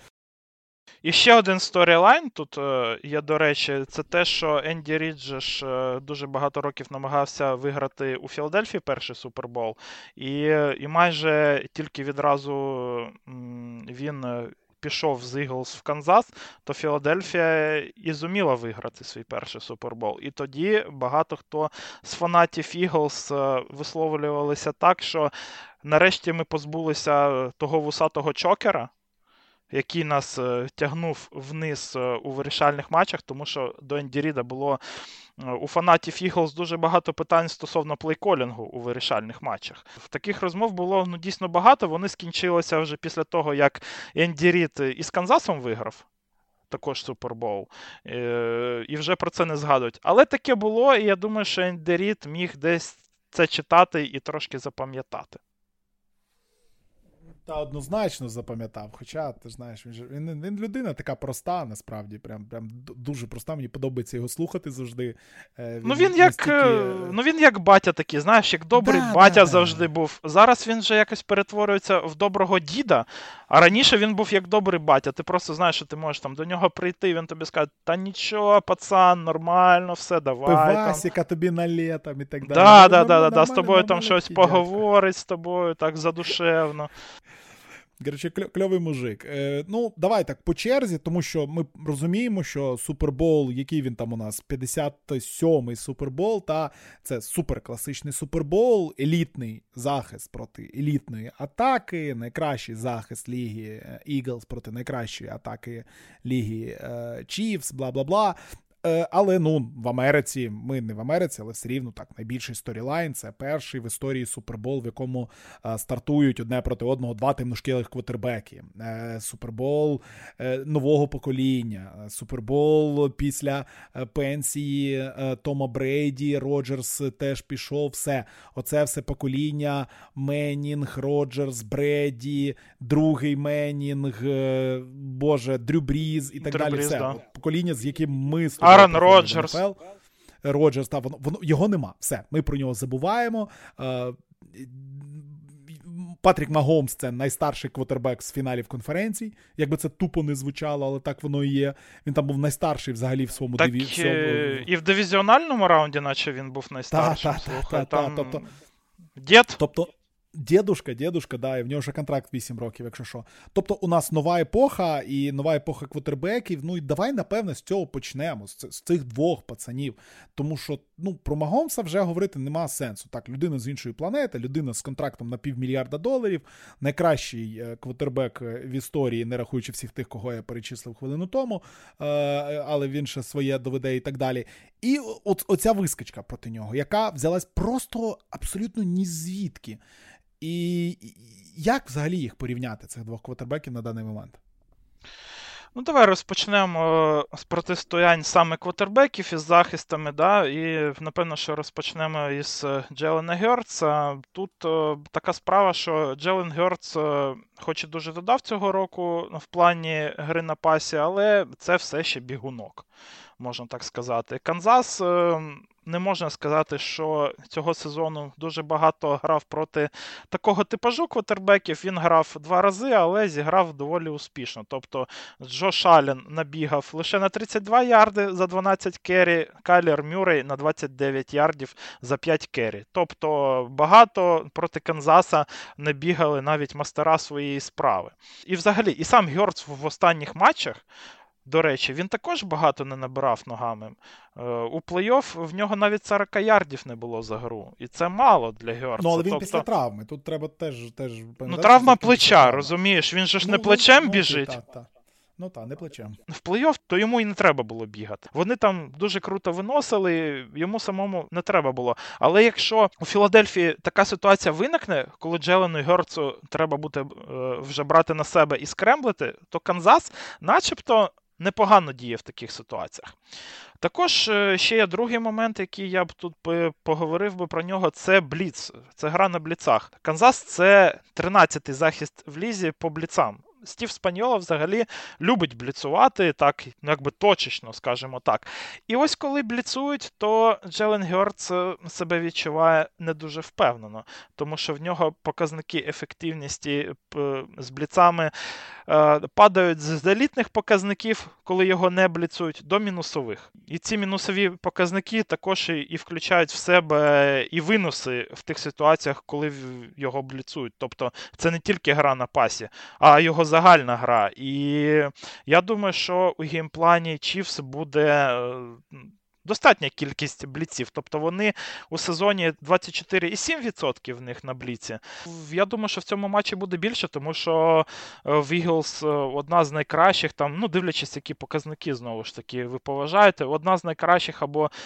І ще один сторілайн тут є, до речі, це те, що Енді Рід же ж дуже багато років намагався виграти у Філадельфії перший Супербол, і, і майже тільки відразу він пішов з Eagles в Канзас, то Філадельфія і зуміла виграти свій перший Супербол. І тоді багато хто з фанатів Eagles висловлювалися так, що нарешті ми позбулися того вусатого чокера, який нас е, тягнув вниз е, у вирішальних матчах, тому що до Енді Ріда було е, у фанатів Eagles дуже багато питань стосовно плейколінгу у вирішальних матчах. Таких розмов було ну, дійсно багато, вони скінчилися вже після того, як Енді Рід із Канзасом виграв, також Супербоул, е, і вже про це не згадують. Але таке було, і я думаю, що Енді Рід міг десь це читати і трошки запам'ятати. Та однозначно запам'ятав. Хоча, ти знаєш, він, же, він, він людина така проста, насправді, прям, прям дуже проста. Мені подобається його слухати завжди. Він ну, він як, настільки... ну він як батя такий, знаєш, як добрий да, батя да, завжди да. був. Зараз він вже якось перетворюється в доброго діда, а раніше він був як добрий батя. Ти просто знаєш, що ти можеш там до нього прийти, він тобі скаже, та нічого, пацан, нормально, все, давай. Пивасика тобі налетом і так далі. Да, да, да, да, з тобою там щось поговорить, з тобою так задушевно. Короче, кльовий мужик. Е, ну, давай так, по черзі, тому що ми розуміємо, що Супербол, який він там у нас, п'ятдесят сьомий Супербол, та це суперкласичний Супербол, елітний захист проти елітної атаки, найкращий захист ліги Eagles проти найкращої атаки ліги Chiefs, бла-бла-бла. Але, ну, в Америці, ми не в Америці, але все рівно так, найбільший сторілайн, це перший в історії Супербол, в якому а, стартують одне проти одного два темношкілих квотербеки. Е, Супербол е, нового покоління, Супербол після е, пенсії е, Тома Брейді, Роджерс теж пішов, все. Оце все покоління Меннінг, Роджерс, Брейді, другий Меннінг, е, боже, Дрю Бріз і так Дрю далі. Бріз, все. да. Покоління, з яким ми Аарон Роджерс. Роджерс, та, воно, воно, його нема. Все, ми про нього забуваємо. Е, Патрік Магомс – це найстарший квотербек з фіналів конференцій. Якби це тупо не звучало, але так воно і є. Він там був найстарший взагалі в своєму так, дивізі. Е- і в дивізіональному раунді, наче він був найстаршим. Так, так, так. Та, тобто, дід? Тобто, дідушка, дідушка, да, і в нього вже контракт вісім років, якщо що. Тобто у нас нова епоха і нова епоха квотербеків. Ну і давай, напевне, з цього почнемо, з, з цих двох пацанів. Тому що, ну, про Магомса вже говорити нема сенсу. Так, людина з іншої планети, людина з контрактом на півмільярда доларів, найкращий квотербек в історії, не рахуючи всіх тих, кого я перечислив хвилину тому, але він ще своє доведе і так далі. І от оця вискочка проти нього, яка взялась просто абсолютно ні звідки. І як взагалі їх порівняти, цих двох квотербеків на даний момент? Ну, давай розпочнемо з протистоянь саме квотербеків із захистами, да, і, напевно, що розпочнемо із Джелена Гьортса. Тут о, така справа, що Джелен Гьортс о, хоч і дуже додав цього року в плані гри на пасі, але це все ще бігунок, можна так сказати. Канзас... О, не можна сказати, що цього сезону дуже багато грав проти такого типажу квотербеків. Він грав два рази, але зіграв доволі успішно. Тобто Джош Аллен набігав лише на тридцять два ярди за дванадцять керрі, Кайлер Мюррей на двадцять дев'ять ярдів за п'ять керрі. Тобто багато проти Канзаса не бігали навіть мастера своєї справи. І взагалі, і сам Гьортс в останніх матчах, до речі, він також багато не набирав ногами. У плей-офф в нього навіть сорок ярдів не було за гру. І це мало для Гьортса. Ну, але він тобто... після травми. Тут треба теж... теж ну, травма плеча, розумієш? Він же ж ну, не плечем ну, біжить. Та, та. Ну так, не плечем. В плей-офф то йому і не треба було бігати. Вони там дуже круто виносили, йому самому не треба було. Але якщо у Філадельфії така ситуація виникне, коли Джелену Гьортсу треба буде вже брати на себе і скремблити, то Канзас начебто непогано діє в таких ситуаціях. Також ще є другий момент, який я б тут поговорив би про нього, це бліц. Це гра на бліцах. Канзас – це тринадцятий захист в лізі по бліцам. Стів Спаньоло взагалі любить бліцувати, так, ну, якби точечно, скажімо так. І ось коли бліцують, то Джелен Гьортс себе відчуває не дуже впевнено, тому що в нього показники ефективності з бліцами е, падають з елітних показників, коли його не бліцують, до мінусових. І ці мінусові показники також і, і включають в себе і винуси в тих ситуаціях, коли його бліцують. Тобто це не тільки гра на пасі, а його загальна гра. І я думаю, що у геймплані Chiefs буде достатня кількість бліців. Тобто вони у сезоні двадцять чотири цілих сім десятих відсотка в них на бліці. Я думаю, що в цьому матчі буде більше, тому що в Eagles одна з найкращих, там, ну, дивлячись, які показники, знову ж таки, ви поважаєте, одна з найкращих або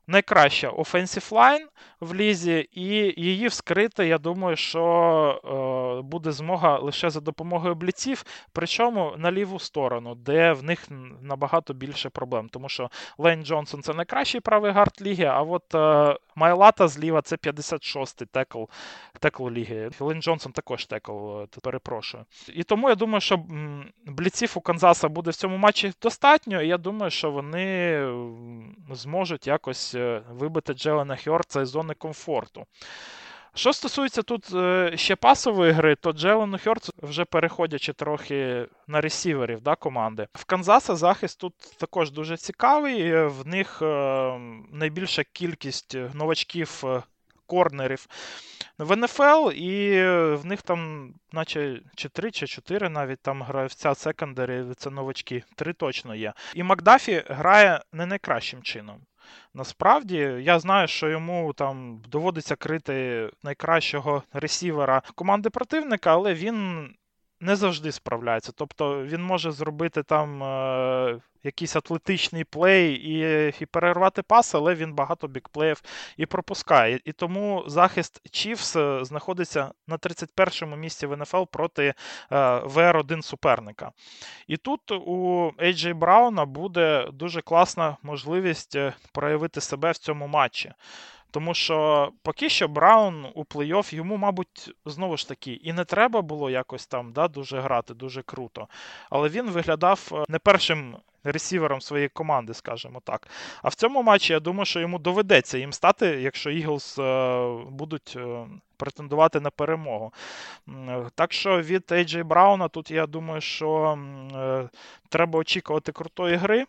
найкраща offensive line в лізі, і її вскрити, я думаю, що е, буде змога лише за допомогою бліців, причому на ліву сторону, де в них набагато більше проблем, тому що Лейн Джонсон – це найкращий правий гард ліги, а от е, Майлата зліва – це п'ятдесят шостий текл, текл ліги. Лейн Джонсон також текл, перепрошую. І тому я думаю, що бліців у Канзаса буде в цьому матчі достатньо, і я думаю, що вони зможуть якось вибити Джелена Хьортса із зони комфорту. Що стосується тут ще пасової гри, то Джелену Хьортсу, вже переходячи трохи на ресіверів да, команди, в Канзаса захист тут також дуже цікавий, в них найбільша кількість новачків корнерів в ен еф ел, і в них там наче чи три, чи чотири навіть там гравця секондарі, це новачки, три точно є. І Макдафі грає не найкращим чином. Насправді, я знаю, що йому там доводиться крити найкращого ресівера команди противника, але він не завжди справляється. Тобто він може зробити там е, якийсь атлетичний плей і, і перервати пас, але він багато бікплеїв і пропускає. І тому захист Chiefs знаходиться на тридцять першому місці в ен еф ел проти е, ве ар один суперника. І тут у ей джей Брауна буде дуже класна можливість проявити себе в цьому матчі. Тому що поки що Браун у плей-офф йому, мабуть, знову ж таки, і не треба було якось там да, дуже грати, дуже круто. Але він виглядав не першим ресівером своєї команди, скажімо так. А в цьому матчі, я думаю, що йому доведеться їм стати, якщо Eagles е, будуть е, претендувати на перемогу. Так що від ей джей Брауна тут, я думаю, що е, треба очікувати крутої гри.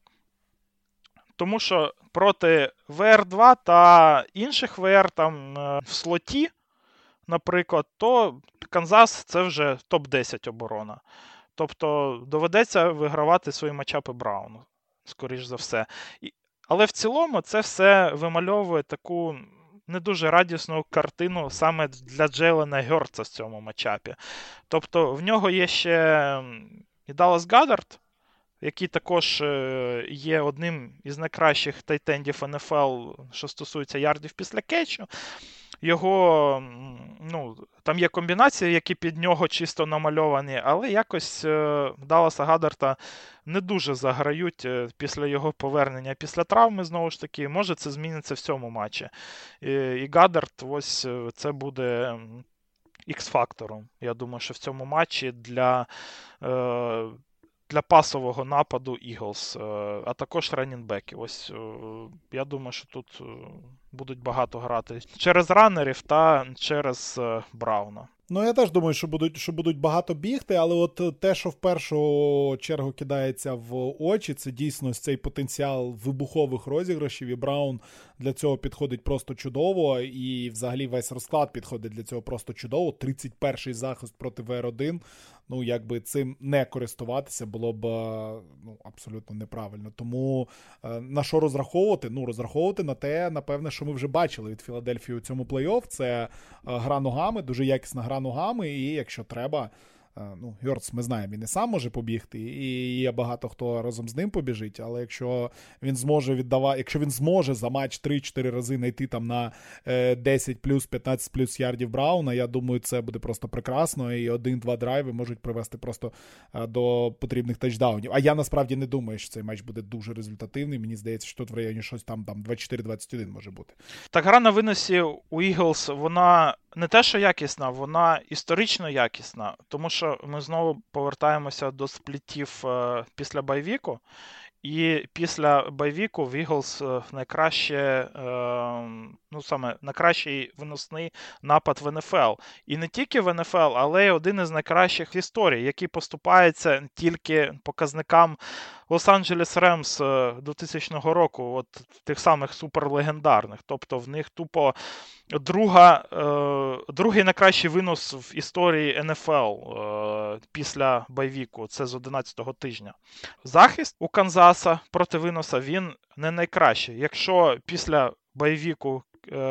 Тому що проти ве ар два та інших ве ар там в слоті, наприклад, то Канзас – це вже топ десять оборона. Тобто доведеться вигравати свої матчапи Брауну, скоріш за все. І, але в цілому це все вимальовує таку не дуже радісну картину саме для Джейлена Гьортса в цьому матчапі. Тобто в нього є ще і Даллас Гаддард, який також є одним із найкращих тайтендів ен еф ел, що стосується ярдів після кетчу. Його, ну, там є комбінації, які під нього чисто намальовані, але якось Далласа Гаддарда не дуже заграють після його повернення після травми, знову ж таки. Може це зміниться в цьому матчі. І, і Гаддард, ось це буде ікс-фактором. Я думаю, що в цьому матчі для... Е- для пасового нападу Eagles, а також раннінбеки. Ось я думаю, що тут будуть багато грати через раннерів та через Брауна. Ну, я теж думаю, що будуть, що будуть багато бігти, але от те, що в першу чергу кидається в очі, це дійсно цей потенціал вибухових розіграшів, і Браун для цього підходить просто чудово, і взагалі весь розклад підходить для цього просто чудово. тридцять перший захист проти ве ар один, ну, якби цим не користуватися було б, ну, абсолютно неправильно. Тому на що розраховувати? Ну, розраховувати на те, напевне, що ми вже бачили від Філадельфії у цьому плей-офф. Це гра ногами, дуже якісна гра ногами, і якщо треба, ну, Гьортс, ми знаємо, він і сам може побігти, і є багато хто разом з ним побіжить, але якщо він зможе віддавати, якщо він зможе за матч три-чотири рази знайти там на десять плюс, п'ятнадцять плюс ярдів Брауна, я думаю, це буде просто прекрасно, і один-два драйви можуть привести просто до потрібних тачдаунів. А я насправді не думаю, що цей матч буде дуже результативний, мені здається, що тут в районі щось там, там двадцять чотири двадцять один може бути. Так, гра на виносі у Eagles, вона не те, що якісна, вона історично якісна, тому що ми знову повертаємося до сплітів е, після байвіку, і після байвіку в Eagles найкраще, е, ну саме найкращий виносний напад в ен еф ел. І не тільки в ен еф ел, але й один із найкращих в історії, який поступається тільки показникам Лос-Анджелес Ремс двохтисячного року, от тих самих суперлегендарних. Тобто в них тупо друга, е, другий найкращий винос в історії ен еф ел е, після байвіку, це з одинадцятого тижня. Захист у Канзаса проти виноса, він не найкращий. Якщо після байвіку е,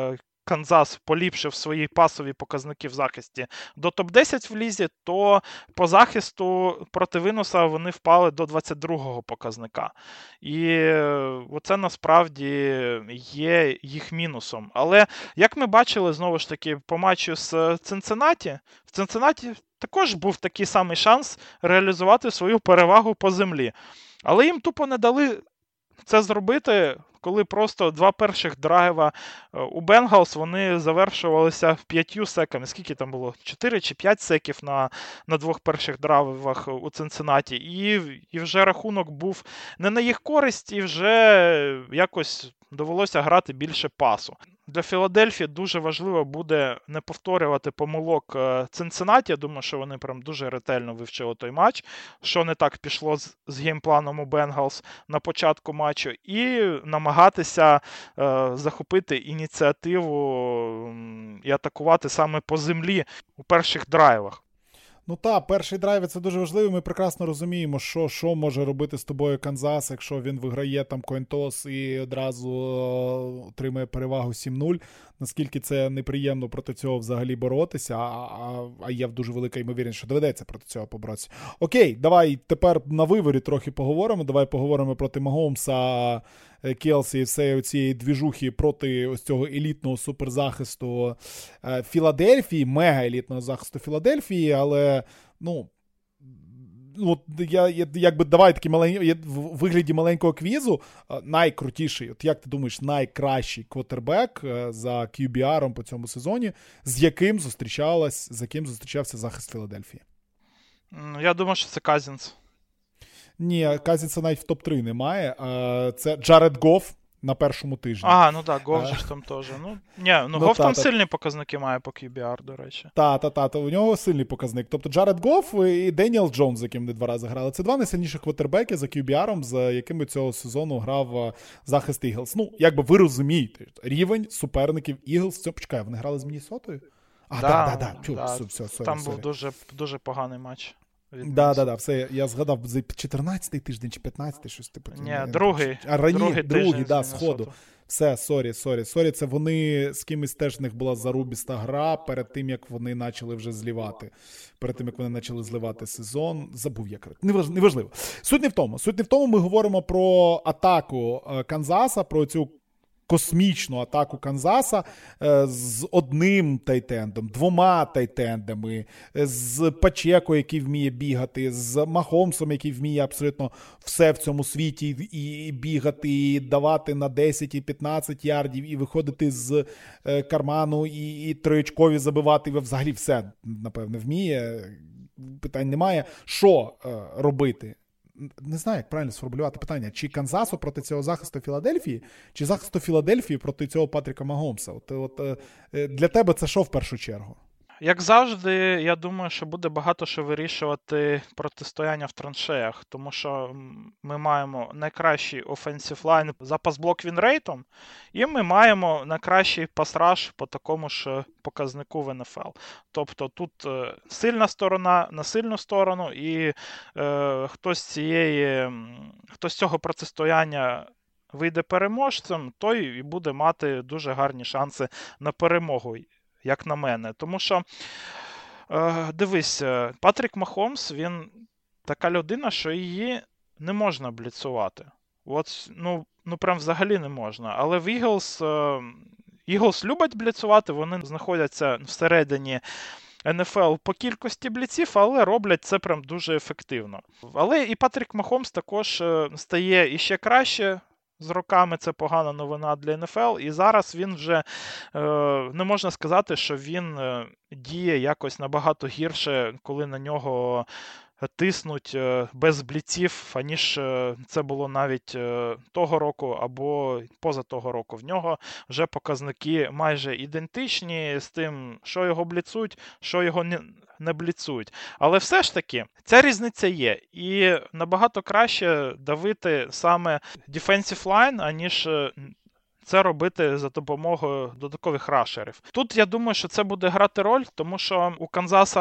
Канзас поліпшив свої пасові показники в захисті до топ десять в лізі, то по захисту проти винуса вони впали до двадцять другого показника. І оце насправді є їх мінусом. Але, як ми бачили, знову ж таки, по матчу з Цинциннаті, в Цинциннаті також був такий самий шанс реалізувати свою перевагу по землі. Але їм тупо не дали це зробити, коли просто два перших драйва у Бенгалс, вони завершувалися п'ятью секами. Скільки там було? Чотири чи п'ять секів на, на двох перших драйвах у Цинциннаті. І, і вже рахунок був не на їх користь, і вже якось довелося грати більше пасу. Для Філадельфії дуже важливо буде не повторювати помилок Цинциннаті. Я думаю, що вони прям дуже ретельно вивчили той матч, що не так пішло з, з геймпланом у Бенгалс на початку матчу, і намагатися е, захопити ініціативу і атакувати саме по землі у перших драйвах. Ну так, перший драйв – це дуже важливо. Ми прекрасно розуміємо, що, що може робити з тобою Канзас, якщо він виграє там коін-тос і одразу отримує перевагу сім нуль. Наскільки це неприємно проти цього взагалі боротися, а, а, а є дуже велика ймовірність, що доведеться проти цього поборотися. Окей, давай тепер на виворі трохи поговоримо. Давай поговоримо проти Магомса, Келсі і всієї цієї двіжухи проти ось цього елітного суперзахисту Філадельфії, мега-елітного захисту Філадельфії, але, ну, от я, я якби давай такий маленький, в вигляді маленького квізу, найкрутіший, от як ти думаєш, найкращий квотербек за кью бі ар по цьому сезоні, з яким зустрічалась, з яким зустрічався захист Філадельфії? Я думаю, що це Казінс. Ні, Казінса навіть в топ три немає. Це Джаред Гофф на першому тижні. А, ну так, Гофф же ж там теж. Ну, ні, ну, ну Гофф там та, сильні показники має по кью бі ар, до речі. Так, так, так, у нього сильний показник. Тобто Джаред Гофф і Деніел Джонс, з яким вони два рази грали. Це два найсильніших квотербеки за кью бі ар, з якими цього сезону грав захист Іглс. Ну, якби ви розумієте, рівень суперників Іглс. Почекай, вони грали з Міннесотою? А, так, так, так, так. Да, там був дуже, дуже поганий матч. Так, так, так, все, я згадав, за чотирнадцятий тиждень чи п'ятнадцятий, щось типу. Ні, другий. А рані, другий, другий, да, сходу. Все, сорі, сорі, сорі, це вони, з кимось теж в них була зарубіста гра перед тим, як вони почали вже злівати. Перед тим, як вони почали зливати сезон. Забув як. Неваж, неважливо. Суть не в тому. Суть не в тому, ми говоримо про атаку Канзаса, про цю космічну атаку Канзаса е, з одним тайтендом, двома тайтендами, з Пачеко, який вміє бігати, з Махомсом, який вміє абсолютно все в цьому світі і бігати, і давати на десять і п'ятнадцять ярдів, і виходити з е, карману, і, і триочкові забивати, і взагалі все, напевне, вміє. Питань немає. Що е, робити? Не знаю, як правильно сформулювати питання. Чи Канзасу проти цього захисту Філадельфії, чи захисту Філадельфії проти цього Патріка Магомса? От, от, для тебе це що в першу чергу? Як завжди, я думаю, що буде багато що вирішувати протистояння в траншеях, тому що ми маємо найкращий offensive line за пасблок вінрейтом, і ми маємо найкращий пасраж по такому ж показнику в ен еф ел. Тобто тут сильна сторона на сильну сторону, і е, хтось цієї, хтось з цього протистояння вийде переможцем, той і буде мати дуже гарні шанси на перемогу, як на мене. Тому що, е, дивись, Патрік Махомс, він така людина, що її не можна бліцувати. От, ну, ну прям взагалі не можна. Але в Eagles, е, Eagles люблять бліцувати, вони знаходяться всередині ен еф ел по кількості бліців, але роблять це прям дуже ефективно. Але і Патрік Махомс також стає іще краще з роками, це погана новина для ен еф ел, і зараз він вже, е, не можна сказати, що він е, діє якось набагато гірше, коли на нього тиснуть без бліців, аніж це було навіть того року або поза того року. В нього вже показники майже ідентичні з тим, що його бліцують, що його не, не бліцують. Але все ж таки, ця різниця є. І набагато краще давити саме defensive line, аніж це робити за допомогою додаткових рашерів. Тут я думаю, що це буде грати роль, тому що у Канзаса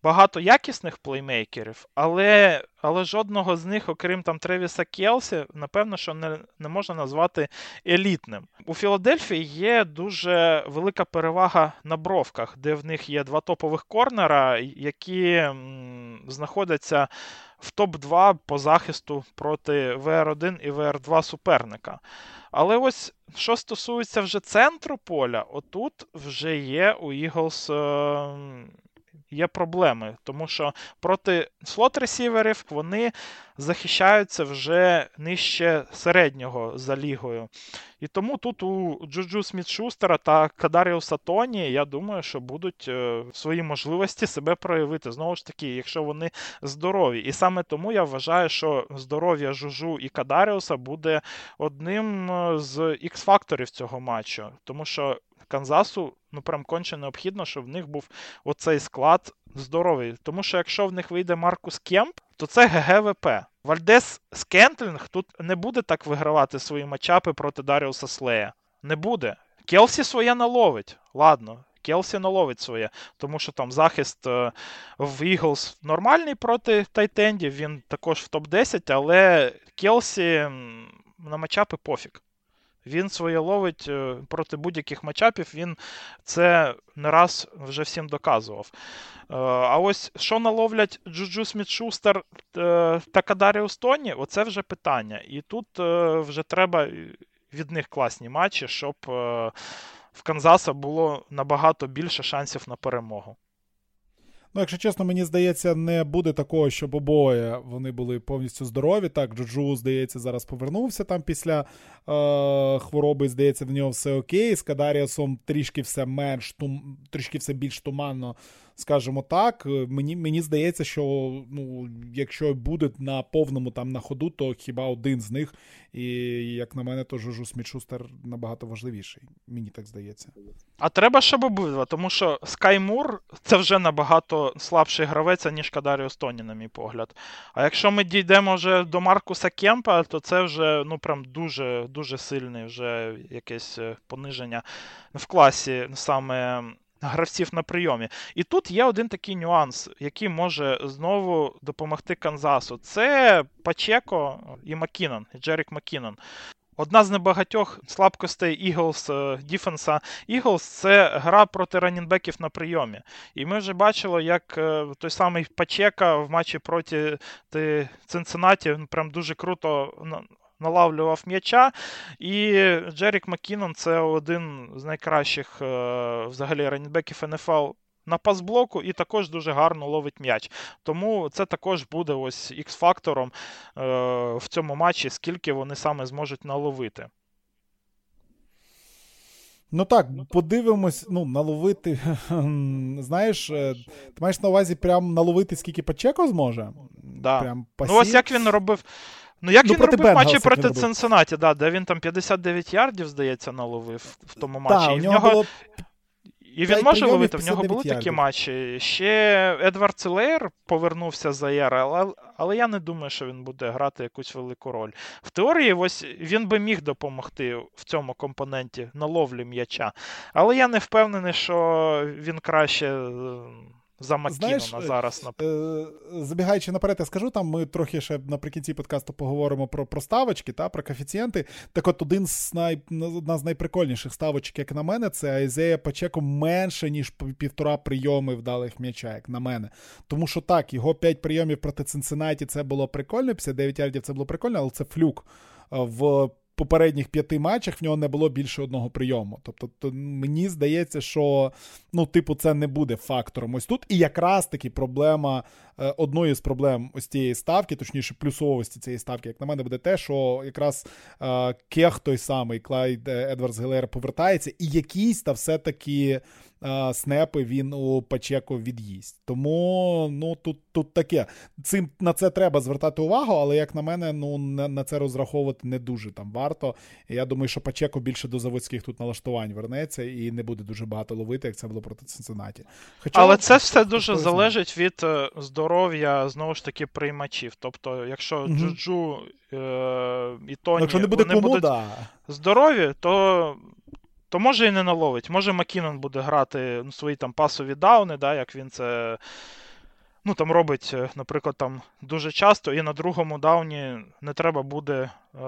багато якісних плеймейкерів, але, але жодного з них, окрім там Тревіса Келсі, напевно, що не, не можна назвати елітним. У Філадельфії є дуже велика перевага на бровках, де в них є два топових корнера, які м, знаходяться в топ два по захисту проти ве ар один і ве ар два суперника. Але ось, що стосується вже центру поля, отут вже є у Eagles е- є проблеми, тому що проти слот-ресіверів вони захищаються вже нижче середнього за лігою. І тому тут у Джуджу Сміт-Шустера та Кадаріуса Тоні, я думаю, що будуть е, свої можливості себе проявити. Знову ж таки, якщо вони здорові. І саме тому я вважаю, що здоров'я Жужу і Кадаріуса буде одним з ікс-факторів цього матчу. Тому що Канзасу, ну, прям конче необхідно, щоб в них був оцей склад здоровий. Тому що якщо в них вийде Маркус Кемп, то це ге ге ве пе. Вальдес Скентлінг тут не буде так вигравати свої матчапи проти Даріуса Слея. Не буде. Келсі своє наловить. Ладно, Келсі наловить своє. Тому що там захист е, в Eagles нормальний проти тайтендів, він також в топ десять, але Келсі на матчапи пофіг. Він своє ловить проти будь-яких матчапів, він це не раз вже всім доказував. А ось що наловлять Джуджу Сміт-Шустер та Кадаріус Тоні, оце вже питання. І тут вже треба від них класні матчі, щоб в Канзаса було набагато більше шансів на перемогу. Ну, якщо чесно, мені здається, не буде такого, щоб обоє вони були повністю здорові. Так, Джуджу, здається, зараз повернувся там після е- хвороби, здається, в нього все окей. З Кадаріусом трішки все менш, тум, трішки все більш туманно, скажімо так. Мені, мені здається, що ну, якщо буде на повному там на ходу, то хіба один з них. І, як на мене, то Джуджу Сміт-Шустер набагато важливіший. Мені так здається. А треба, щоб обидва, тому що Скай Мур – це вже набагато слабший гравець, ніж Кадаріус Тоні, на мій погляд. А якщо ми дійдемо вже до Маркуса Кемпа, то це вже, ну, прям дуже, дуже сильне вже якесь пониження в класі саме гравців на прийомі. І тут є один такий нюанс, який може знову допомогти Канзасу. Це Пачеко і Маккінон, Джерік Маккінон. Одна з небагатьох слабкостей Eagles, діфенса Eagles – це гра проти раннінбеків на прийомі. І ми вже бачили, як той самий Пачека в матчі проти Цинциннаті прям дуже круто налавлював м'яча. І Джерік Маккінон – це один з найкращих взагалі раннінбеків ен еф ел на пасблоку і також дуже гарно ловить м'яч. Тому це також буде ось ікс-фактором е, в цьому матчі, скільки вони саме зможуть наловити. Ну так, подивимось, ну, наловити, знаєш, ти маєш на увазі прям наловити, скільки Пачеко зможе? Да. Прям ну ось як він робив, ну як ну, він робив Бенгалс, матчі проти робив. Цинциннаті, да, де він там п'ятдесят дев'ять ярдів, здається, наловив в тому матчі. Так, і у в нього нього... було... І він може ловити, в нього були ярдів. такі матчі. Ще Едвард Силеєр повернувся з АЄР, але, але я не думаю, що він буде грати якусь велику роль. В теорії ось він би міг допомогти в цьому компоненті на ловлі м'яча. Але я не впевнений, що він краще за Маккінона зараз. Е, забігаючи наперед, я скажу, там ми трохи ще наприкінці подкасту поговоримо про, про ставочки, та, про коефіцієнти. Так от один з най, одна з найприкольніших ставочок, як на мене, це Айзея Пачеко менше, ніж півтора прийоми вдалих м'яча, як на мене. Тому що так, його п'ять прийомів проти Цинциннаті це було прикольно, п'ятдесят дев'ять ярдів це було прикольно, але це флюк. В попередніх п'яти матчах в нього не було більше одного прийому. Тобто то, мені здається, що ну, типу, це не буде фактором ось тут. І якраз таки проблема, е, одною з проблем ось цієї ставки, точніше плюсовості цієї ставки, як на мене, буде те, що якраз е, Кех той самий, Клайд Едвардс-Гелеєр повертається, і якісь та все-таки е, снепи він у Пачеко від'їсть. Тому, ну, тут, тут таке. Цим, на це треба звертати увагу, але, як на мене, ну, на, на це розраховувати не дуже там варто. І я думаю, що Пачеко більше до заводських тут налаштувань вернеться і не буде дуже багато ловити, як це було проти Цинциннаті. Хоча, але це все дуже залежить від здоров'я, знову ж таки, приймачів. Тобто, якщо угу. Джуджу е- і Тоні якщо не буде вони кому, будуть да. здорові, то, то може і не наловить. Може Маккінон буде грати ну, свої там пасові дауни, да, як він це ну, там робить, наприклад, там дуже часто, і на другому дауні не треба буде е,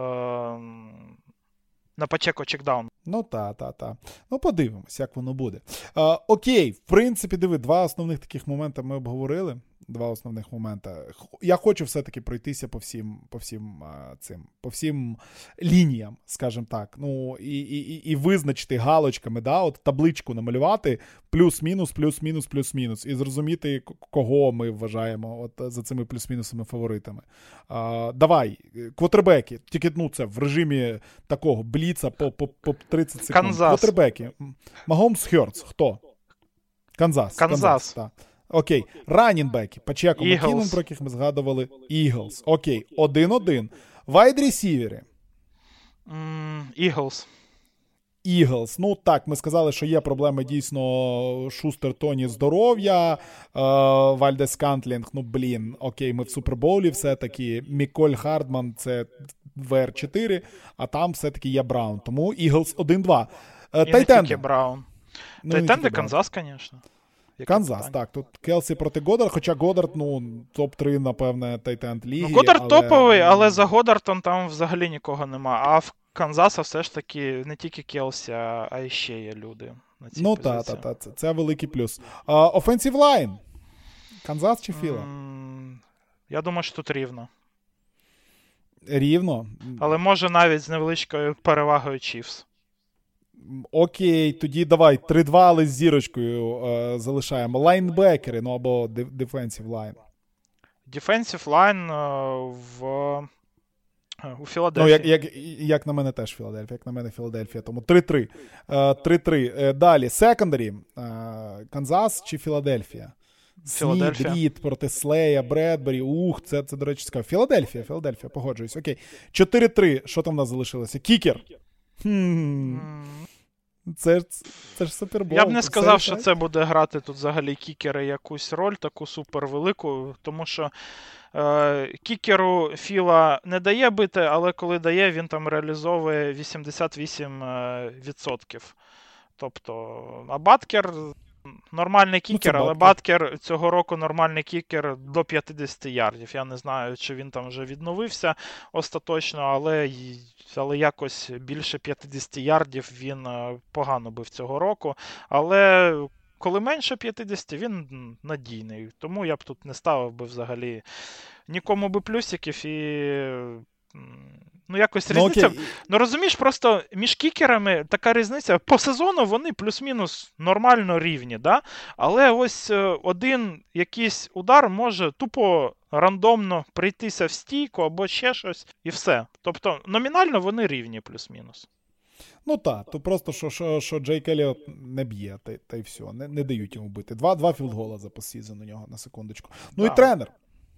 на пачеко чекдаун. Ну, та, та, та. Ну, подивимось, як воно буде. А, окей, в принципі, диви, два основних таких моменти ми обговорили. Два основних моменти. Я хочу все-таки пройтися по всім, по всім а, цим, по всім лініям, скажімо так. Ну, і, і, і визначити галочками, да, от табличку намалювати плюс-мінус, плюс-мінус, плюс-мінус. І зрозуміти, кого ми вважаємо от за цими плюс-мінусами фаворитами. А, давай, квотербеки. Тільки, ну, це в режимі такого бліца по, по, по тридцять секунд. Канзас. Квотербеки. Магомс, Хьортс. Хто? Канзас. Канзас. Канзас, так. Окей, раннінбеки, Пачеко, Eagles. Маккінон, про яких ми згадували, Eagles. Окей, один-один. Вайд-ресівери. Eagles. Eagles. Ну так, ми сказали, що є проблеми дійсно Шустер, Тоні, здоров'я, е, Вальдес Кантлінг, ну блін, окей, ми в Супербоулі все-таки, Міколь Хардман це В Р чотири, а там все-таки є Браун, тому Eagles один-два. Е, І Тайтенди. не тільки Браун. Ну, Тайтенди Канзас, звісно. Канзас, питання? так, тут Келсі проти Годдард, хоча Годдард, ну, топ-три, напевне, тайтенд ліги. Ну, Годдард але... топовий, але за Годдартом там взагалі нікого нема. А в Канзаса все ж таки не тільки Келсі, а і ще є люди на цій Ну, позиції. так, так, та, це, це великий плюс. Offensive line. Канзас чи Філа? Mm, я думаю, що тут рівно. Рівно. Але може навіть з невеличкою перевагою Чіфс. Окей, тоді давай, три-два, але з зірочкою е, залишаємо. Лайнбекери, ну або defensive line. Defensive line е, в у Ну, Філадельфії. як, як, як на мене теж Філадельфія, як на мене Філадельфія, тому три-три. Е, три-три. Е, далі, секондарі. Е, Канзас чи Філадельфія? Снід, Рід проти Слея, Бредбері. Ух, це, це, до речі, цікаво. Філадельфія, Філадельфія, погоджуюсь. Окей. чотири-три. Що там в нас залишилося? Кікер. Хм. Це, це ж супербол. Я б не сказав, що це буде грати тут взагалі кікери якусь роль, таку супервелику, тому що е, кікеру Філа не дає бити, але коли дає, він там реалізовує вісімдесят вісім відсотків. Тобто, а Баткер нормальний кікер, ну, але Баткер цього року нормальний кікер до п'ятдесят ярдів. Я не знаю, чи він там вже відновився остаточно, але, але якось більше п'ятдесят ярдів він погано бив цього року. Але коли менше п'ятдесят, він надійний. Тому я б тут не ставив би взагалі нікому би плюсиків і... Ну, якось різниця. Ну, ну, розумієш, просто між кікерами така різниця. По сезону вони плюс-мінус нормально рівні, да? Але ось один якийсь удар може тупо рандомно прийтися в стійку або ще щось, і все. Тобто, номінально вони рівні плюс-мінус. Ну так, то просто, що, що, що Джейк Еліот не б'є, та, та й все, не, не дають йому бити. Два, два філдгола за постсезон у нього, на секундочку. Ну да. І тренер.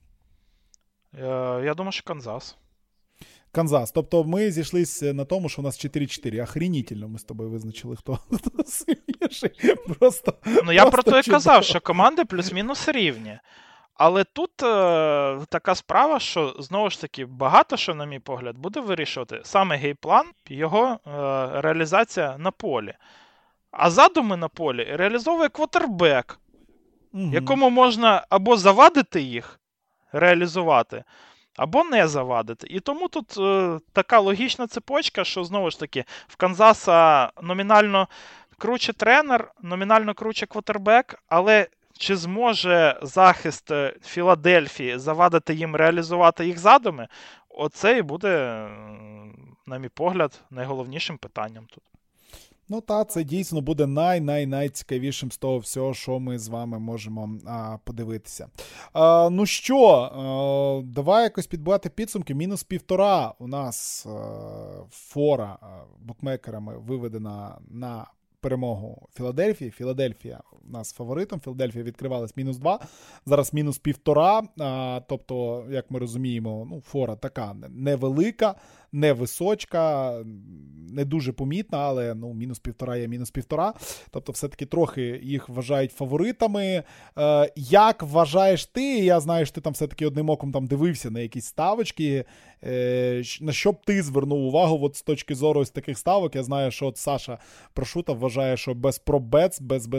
Я, я думаю, що Канзас. Канзас. Тобто ми зійшлися на тому, що у нас чотири-чотири. Охренітельно ми з тобою визначили, хто сильніший. Просто, ну, я просто про те і чудово. казав, що команди плюс-мінус рівні. Але тут е, така справа, що, знову ж таки, багато що, на мій погляд, буде вирішувати саме геймплан, його е, реалізація на полі. А задуми на полі реалізовує квотербек, угу. якому можна або завадити їх реалізувати, або не завадити. І тому тут е, така логічна цепочка, що, знову ж таки, в Канзаса номінально круче тренер, номінально круче квотербек, але чи зможе захист Філадельфії завадити їм реалізувати їх задуми, оце і буде, на мій погляд, найголовнішим питанням тут. Ну та, це дійсно буде най-най-найцікавішим з того всього, що ми з вами можемо а, подивитися. А, ну що, а, давай якось підбивати підсумки. Мінус півтора у нас а, фора а, букмекерами виведена на перемогу Філадельфії. Філадельфія у нас фаворитом. Філадельфія відкривалась мінус два. Зараз мінус півтора. А, тобто, як ми розуміємо, ну, фора така невелика, невисочка, не дуже помітна, але ну, мінус півтора є мінус півтора. Тобто, все-таки трохи їх вважають фаворитами. Е, як вважаєш ти? Я знаю, що ти там все-таки одним оком там дивився на якісь ставочки. Е, на що б ти звернув увагу от з точки зору ось таких ставок? Я знаю, що от Саша Прошута вважає, що без пробец, без, без оцих дивних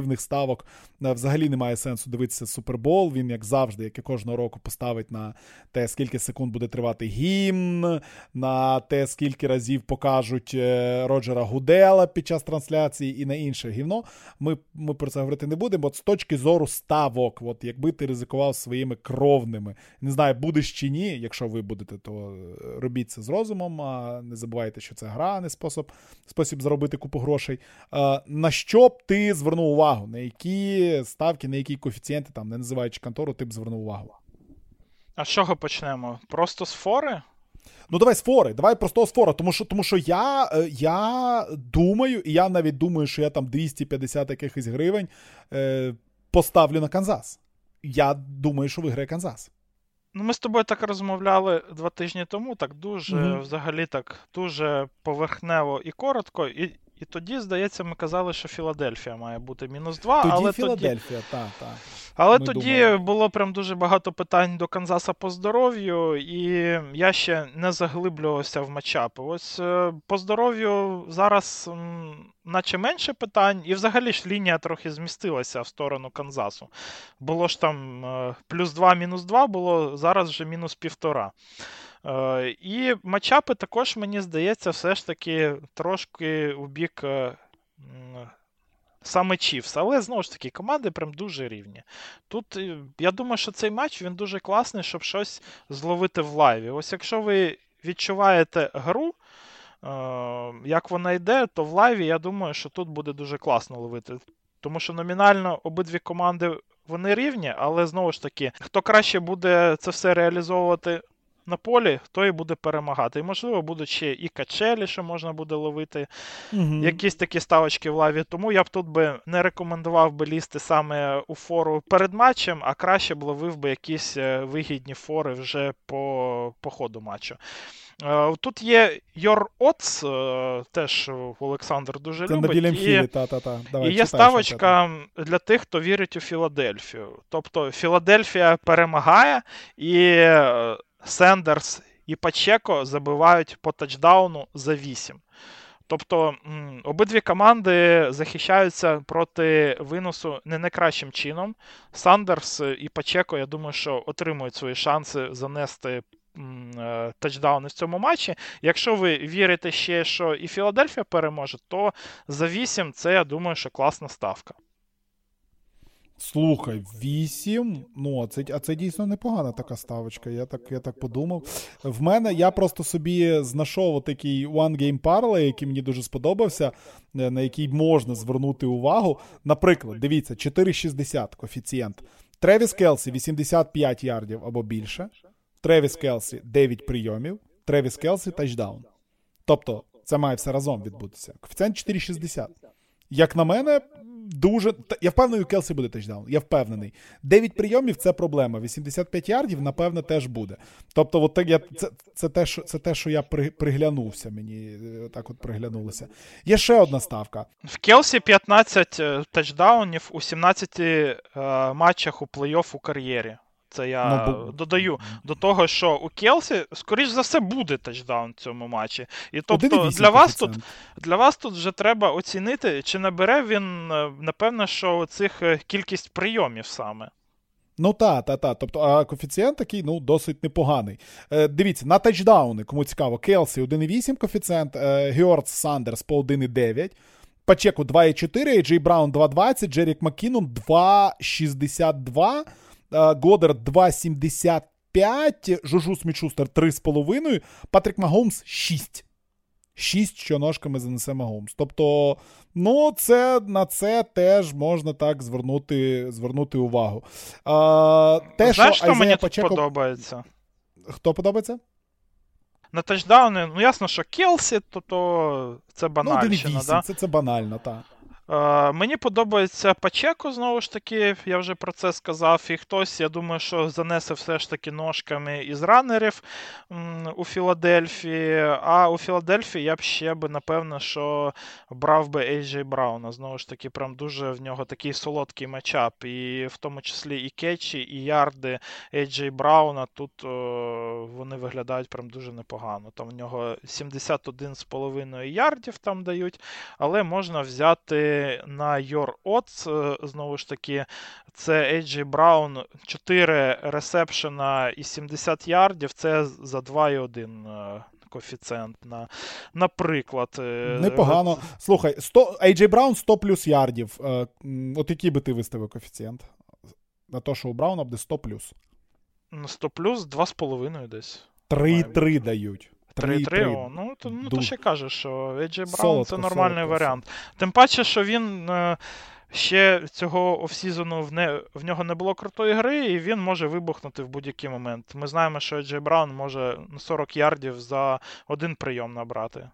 агресивних ставок взагалі немає сенсу дивитися Супербол. Він, як завжди, як і кожного року, поставить на те, скільки секунд буде тривати гімн, на те, скільки разів покажуть Роджера Гудела під час трансляції і на інше гівно. Ми, ми про це говорити не будемо. От з точки зору ставок, от якби ти ризикував своїми кровними, не знаю, будеш чи ні, якщо ви будете, то робіть це з розумом, а не забувайте, що це гра, а не спосіб, спосіб заробити купу грошей. А, на що б ти звернув увагу? На які ставки, на які коефіцієнти, там, не називаючи контору, ти б звернув увагу? А з чого почнемо? Просто з фори? Ну, давай з фори, давай просто з фори, тому що, тому що я, я думаю, і я навіть думаю, що я там двісті п'ятдесят якихось гривень е, поставлю на Канзас. Я думаю, що виграє Канзас. Ну, ми з тобою так розмовляли два тижні тому, так дуже, mm-hmm. взагалі так, дуже поверхнево і коротко, і, і тоді, здається, ми казали, що Філадельфія має бути мінус два, тоді але Філадельфія, тоді... так, так. Але Ми тоді думали. було прям дуже багато питань до Канзаса по здоров'ю, і я ще не заглиблювався в матчапи. Ось по здоров'ю зараз м, наче менше питань, і взагалі ж лінія трохи змістилася в сторону Канзасу. Було ж там плюс два, мінус два, було зараз вже мінус півтора. І матчапи також, мені здається, все ж таки трошки у бік саме Чіфс, але, знову ж таки, команди прям дуже рівні. Тут, я думаю, що цей матч, він дуже класний, щоб щось зловити в лайві. Ось якщо ви відчуваєте гру, як вона йде, то в лайві, я думаю, що тут буде дуже класно ловити. Тому що номінально обидві команди, вони рівні, але, знову ж таки, хто краще буде це все реалізовувати на полі, той і буде перемагати. І, можливо, будуть ще і качелі, що можна буде ловити, mm-hmm. якісь такі ставочки в лаві. Тому я б тут би не рекомендував би лізти саме у фору перед матчем, а краще б ловив би якісь вигідні фори вже по, по ходу матчу. Тут є Your Odds, теж Олександр дуже це любить. На і, Хілі, та, та, та. Давай, і є ставочка для тих, хто вірить у Філадельфію. Тобто Філадельфія перемагає, і Сендерс і Пачеко забивають по тачдауну за вісім. Тобто м, обидві команди захищаються проти виносу не найкращим чином. Сандерс і Пачеко, я думаю, що отримують свої шанси занести м, тачдауни в цьому матчі. Якщо ви вірите ще, що і Філадельфія переможе, то за вісім це, я думаю, що класна ставка. Слухай, вісім, ну, а це, а це дійсно непогана така ставочка, я так, я так подумав. В мене, я просто собі знайшов такий One Game Parlay, який мені дуже сподобався, на який можна звернути увагу. Наприклад, дивіться, чотири шістдесят коефіцієнт. Тревіс Келсі вісімдесят п'ять ярдів або більше. Тревіс Келсі дев'ять прийомів. Тревіс Келсі тачдаун. Тобто, це має все разом відбутися. Коефіцієнт чотири шістдесят. Як на мене, дуже... Я впевнений, у Келсі буде тачдаун. Я впевнений. дев'ять прийомів – це проблема. вісімдесят п'ять ярдів, напевно, теж буде. Тобто, от так я... це, це, те, що, це те, що я при... приглянувся. Мені так от приглянулося. Є ще одна ставка. В Келсі п'ятнадцять тачдаунів у сімнадцяти е, матчах у плей-офф у кар'єрі. Це я ну, додаю до того, що у Келсі, скоріш за все, буде тачдаун в цьому матчі. І тобто для вас, тут, для вас тут вже треба оцінити, чи набере він, напевно, що цих кількість прийомів саме. Ну та, та, та. Тобто, а коефіцієнт такий, ну, досить непоганий. Е, дивіться, на тачдауни, кому цікаво, Келсі один цілих вісім коефіцієнт, е, Геордс Сандерс по один цілих дев'ять, Пачеку два цілих чотири, Джей Браун два цілих двадцять, Джерік Маккінон два цілих шістдесят два, Годдард два цілих сімдесят п'ять, Жужу Сміт-Шустер три цілих п'ять, Патрік Магомс шість. шість, що ножками занесе Магомс. Тобто, ну, це, на це теж можна так звернути, звернути увагу. А, те, Знаєш, що що мені Пачеко... тут подобається? Хто подобається? На тачдауни, ну ясно, що Келсі, то, то це банальщина, ну, да? Це, це банально, так. Uh, мені подобається Пачеко, знову ж таки, я вже про це сказав, і хтось, я думаю, що занесе все ж таки ножками із ранерів м, у Філадельфії, а у Філадельфії я б ще би, напевно, що брав би Ей Джей Брауна, знову ж таки, прям дуже в нього такий солодкий матчап, і в тому числі і кетчі, і ярди Ей Джей Брауна, тут о, вони виглядають прям дуже непогано, там в нього сімдесят один цілих п'ять ярдів там дають, але можна взяти глянути на Your Odds, знову ж таки, це Ей Джей Браун, чотири ресепшена і сімдесят ярдів, це за два і один коефіцієнт, на, наприклад. Непогано. Слухай, сто, Ей Джей Браун сто плюс ярдів. От який би ти виставив коефіцієнт? На те, що у Брауна буде сто плюс. сто плюс, два з половиною десь. три три дають. три три, о, ну, то, ну то ще кажеш, що Ей Джей Браун це нормальний солодко, варіант. Солодко. Тим паче, що він е, ще цього офсізону в, не, в нього не було крутої гри, і він може вибухнути в будь-який момент. Ми знаємо, що Ей Джей Браун може сорок ярдів за один прийом набрати.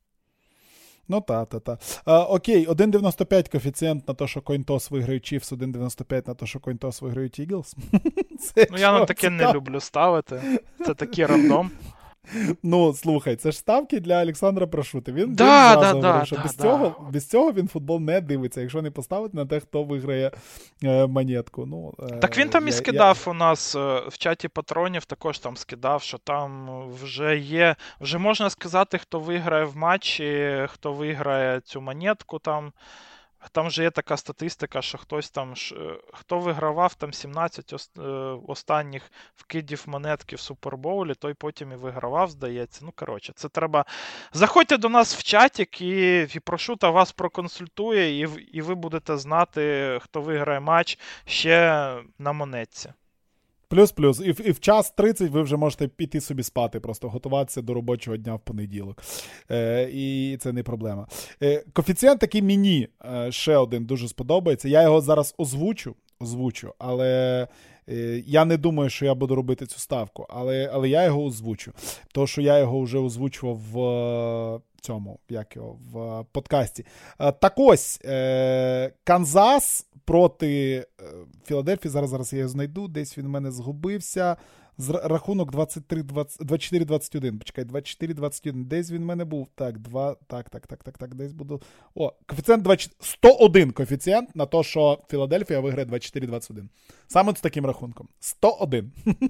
Ну, та, та, та. А, окей, один дев'яносто п'ять коефіцієнт на те, що CoinToss виграють Chiefs, один дев'яносто п'ять на те, що CoinToss виграють Eagles. Ну, я на таке не люблю ставити. Це такий рандом. Ну, слухай, це ж ставки для Олександра Прошути. Він да, да, говорив, да, що да, без, да. Цього, без цього він футбол не дивиться, якщо не поставити на те, хто виграє е, монетку. Ну, е, так він там я, і скидав я... у нас е, в чаті патронів, також там скидав, що там вже є, вже можна сказати, хто виграє в матчі, хто виграє цю монетку там. Там вже є така статистика, що хтось там, хто вигравав там сімнадцять останніх вкидів монетки в Супербоулі, той потім і вигравав, здається. Ну, коротше, це треба... Заходьте до нас в чатик, і, і Прошута вас проконсультує, і, і ви будете знати, хто виграє матч ще на монетці. Плюс-плюс. І в, і в час тридцять ви вже можете піти собі спати, просто готуватися до робочого дня в понеділок. Е, і це не проблема. Е, коефіцієнт такий мені е, ще один дуже сподобається. Я його зараз озвучу, озвучу, але е, я не думаю, що я буду робити цю ставку, але, але я його озвучу. Тому що я його вже озвучував в е, цьому, як його, в подкасті. Е, так ось, е, Канзас проти Філадельфії, зараз, зараз я його знайду, десь він в мене згубився, з рахунок двадцять три двадцять чотири двадцять один, почекай, двадцять чотири двадцять один, десь він в мене був, так, два, так, так, так, так, так, десь буду, о, коефіцієнт двадцять сто один коефіцієнт на те, що Філадельфія виграє двадцять чотири двадцять один, саме з таким рахунком, сто один.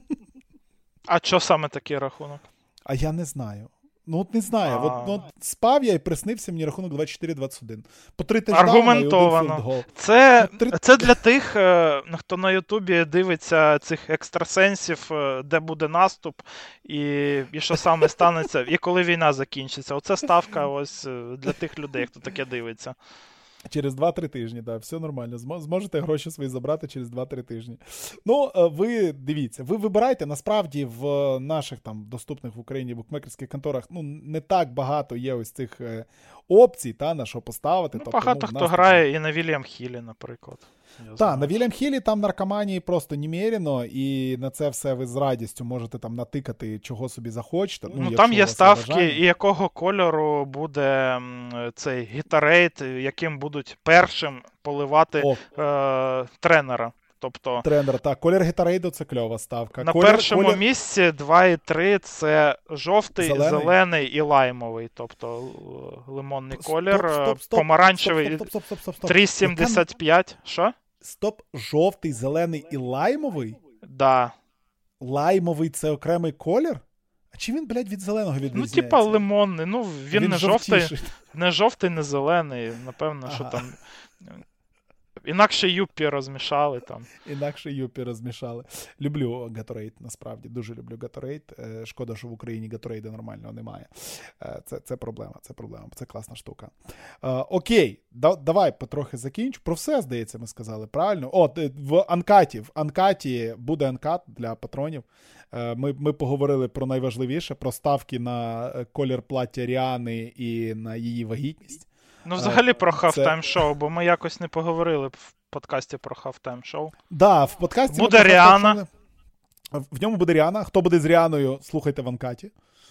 А що саме такий рахунок? А я не знаю. Ну, от не знаю. А... От, ну, спав я і приснився мені рахунок двадцять чотири двадцять один. По три тиждауна аргументовано. І один філдгол. Це, ну, три... це для тих, хто на Ютубі дивиться цих екстрасенсів, де буде наступ, і, і що саме станеться, і коли війна закінчиться. Оце ставка ось для тих людей, хто таке дивиться. Через два-три тижні, так, да, все нормально. Зможете гроші свої забрати через два-три тижні. Ну, ви дивіться, ви вибирайте, насправді в наших там доступних в Україні букмекерських конторах, ну, не так багато є ось цих е, опцій, та, на що поставити. Ну, тобто, багато ну, хто грає і на Вільям Хілі, наприклад. Так, на Вільям Хілі там наркоманії просто немерено, і на це все ви з радістю можете там натикати, чого собі захочете. Ну, ну там є ставки, і якого кольору буде цей гітарейт, яким будуть першим поливати е, тренера. Тобто, тренер, так, колір гітарейду – це кльова ставка. На колір, першому колір... місці два і три – це жовтий, зелений. зелений і лаймовий. Тобто лимонний колір, стоп, стоп, стоп, помаранчевий три сімдесят п'ять. Що? Стоп, жовтий, зелений і лаймовий? Да. Лаймовий – це окремий колір? А чи він, блядь, від зеленого відрізняється? Ну, типа лимонний. Ну, він, він не жовтіший. жовтий, не жовтий, не зелений. Напевно, ага. що там... Інакше юппі розмішали там. Інакше юппі розмішали. Люблю Gatorade, насправді. Дуже люблю Gatorade. Шкода, що в Україні Gatorade нормального немає. Це, це проблема, це проблема. Це класна штука. Окей, да, давай потрохи закінчу. Про все, здається, ми сказали, правильно? О, в Анкаті. В Анкаті буде анкат для патронів. Ми, ми поговорили про найважливіше, про ставки на колір плаття Ріани і на її вагітність. Ну, взагалі про хафтайм-шоу, бо ми якось не поговорили в подкасті про хафтайм-шоу. Да, в подкасті буде Ріана. В ньому буде Ріана. Хто буде з Ріаною, слухайте в анкаті.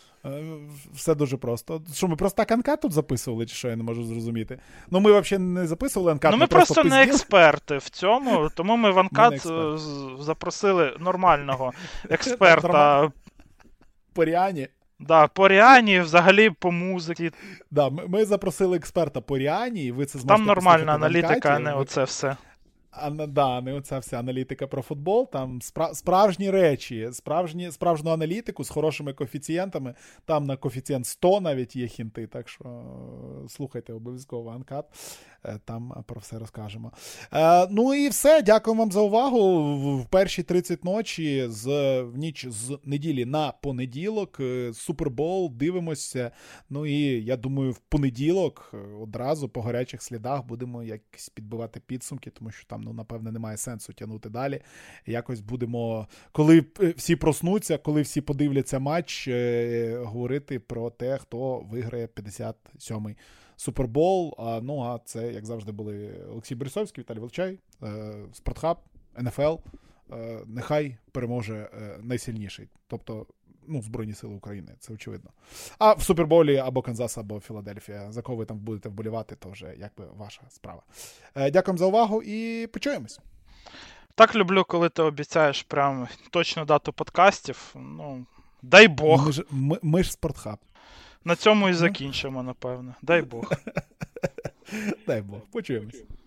Все дуже просто. Що, ми просто так анкат тут записували, чи що, я не можу зрозуміти? Ну, ми взагалі не записували анкат. Ну, ми, ми просто, просто не експерти в цьому, тому ми в анкат ми запросили нормального експерта. По Ріані. Да, по Ріані, взагалі по музиці. Да, ми, ми запросили експерта по Ріані, і ви це зможете там нормальна аналітика, а не оце все. А, да, не оця вся аналітика про футбол, там спра- справжні речі, справжні, справжню аналітику з хорошими коефіцієнтами, там на коефіцієнт сто навіть є хінти, так що слухайте обов'язково Анкат, там про все розкажемо. Е, ну і все, дякую вам за увагу. В перші тридцять ночі, з, в ніч з неділі на понеділок, Супербол, дивимося, ну і я думаю, в понеділок одразу по гарячих слідах будемо якось підбивати підсумки, тому що там, ну, напевне, немає сенсу тягнути далі. Якось будемо, коли всі проснуться, коли всі подивляться матч, говорити про те, хто виграє п'ятдесят сьомий Супербол. А, ну, а це, як завжди, були Олексій Борисовський, Віталій Волчай, Спортхаб, ен еф ел. Нехай переможе найсильніший. Тобто, ну, Збройні Сили України, це очевидно. А в Суперболі або Канзас, або Філадельфія, за кого ви там будете вболівати, то вже якби ваша справа. Дякуємо за увагу і почуємось. Так люблю, коли ти обіцяєш прям точну дату подкастів. Ну, дай Бог. Ми ж, ми, ми ж Спортхаб. На цьому і закінчимо, напевно. Дай Бог. Дай Бог. Почуємось.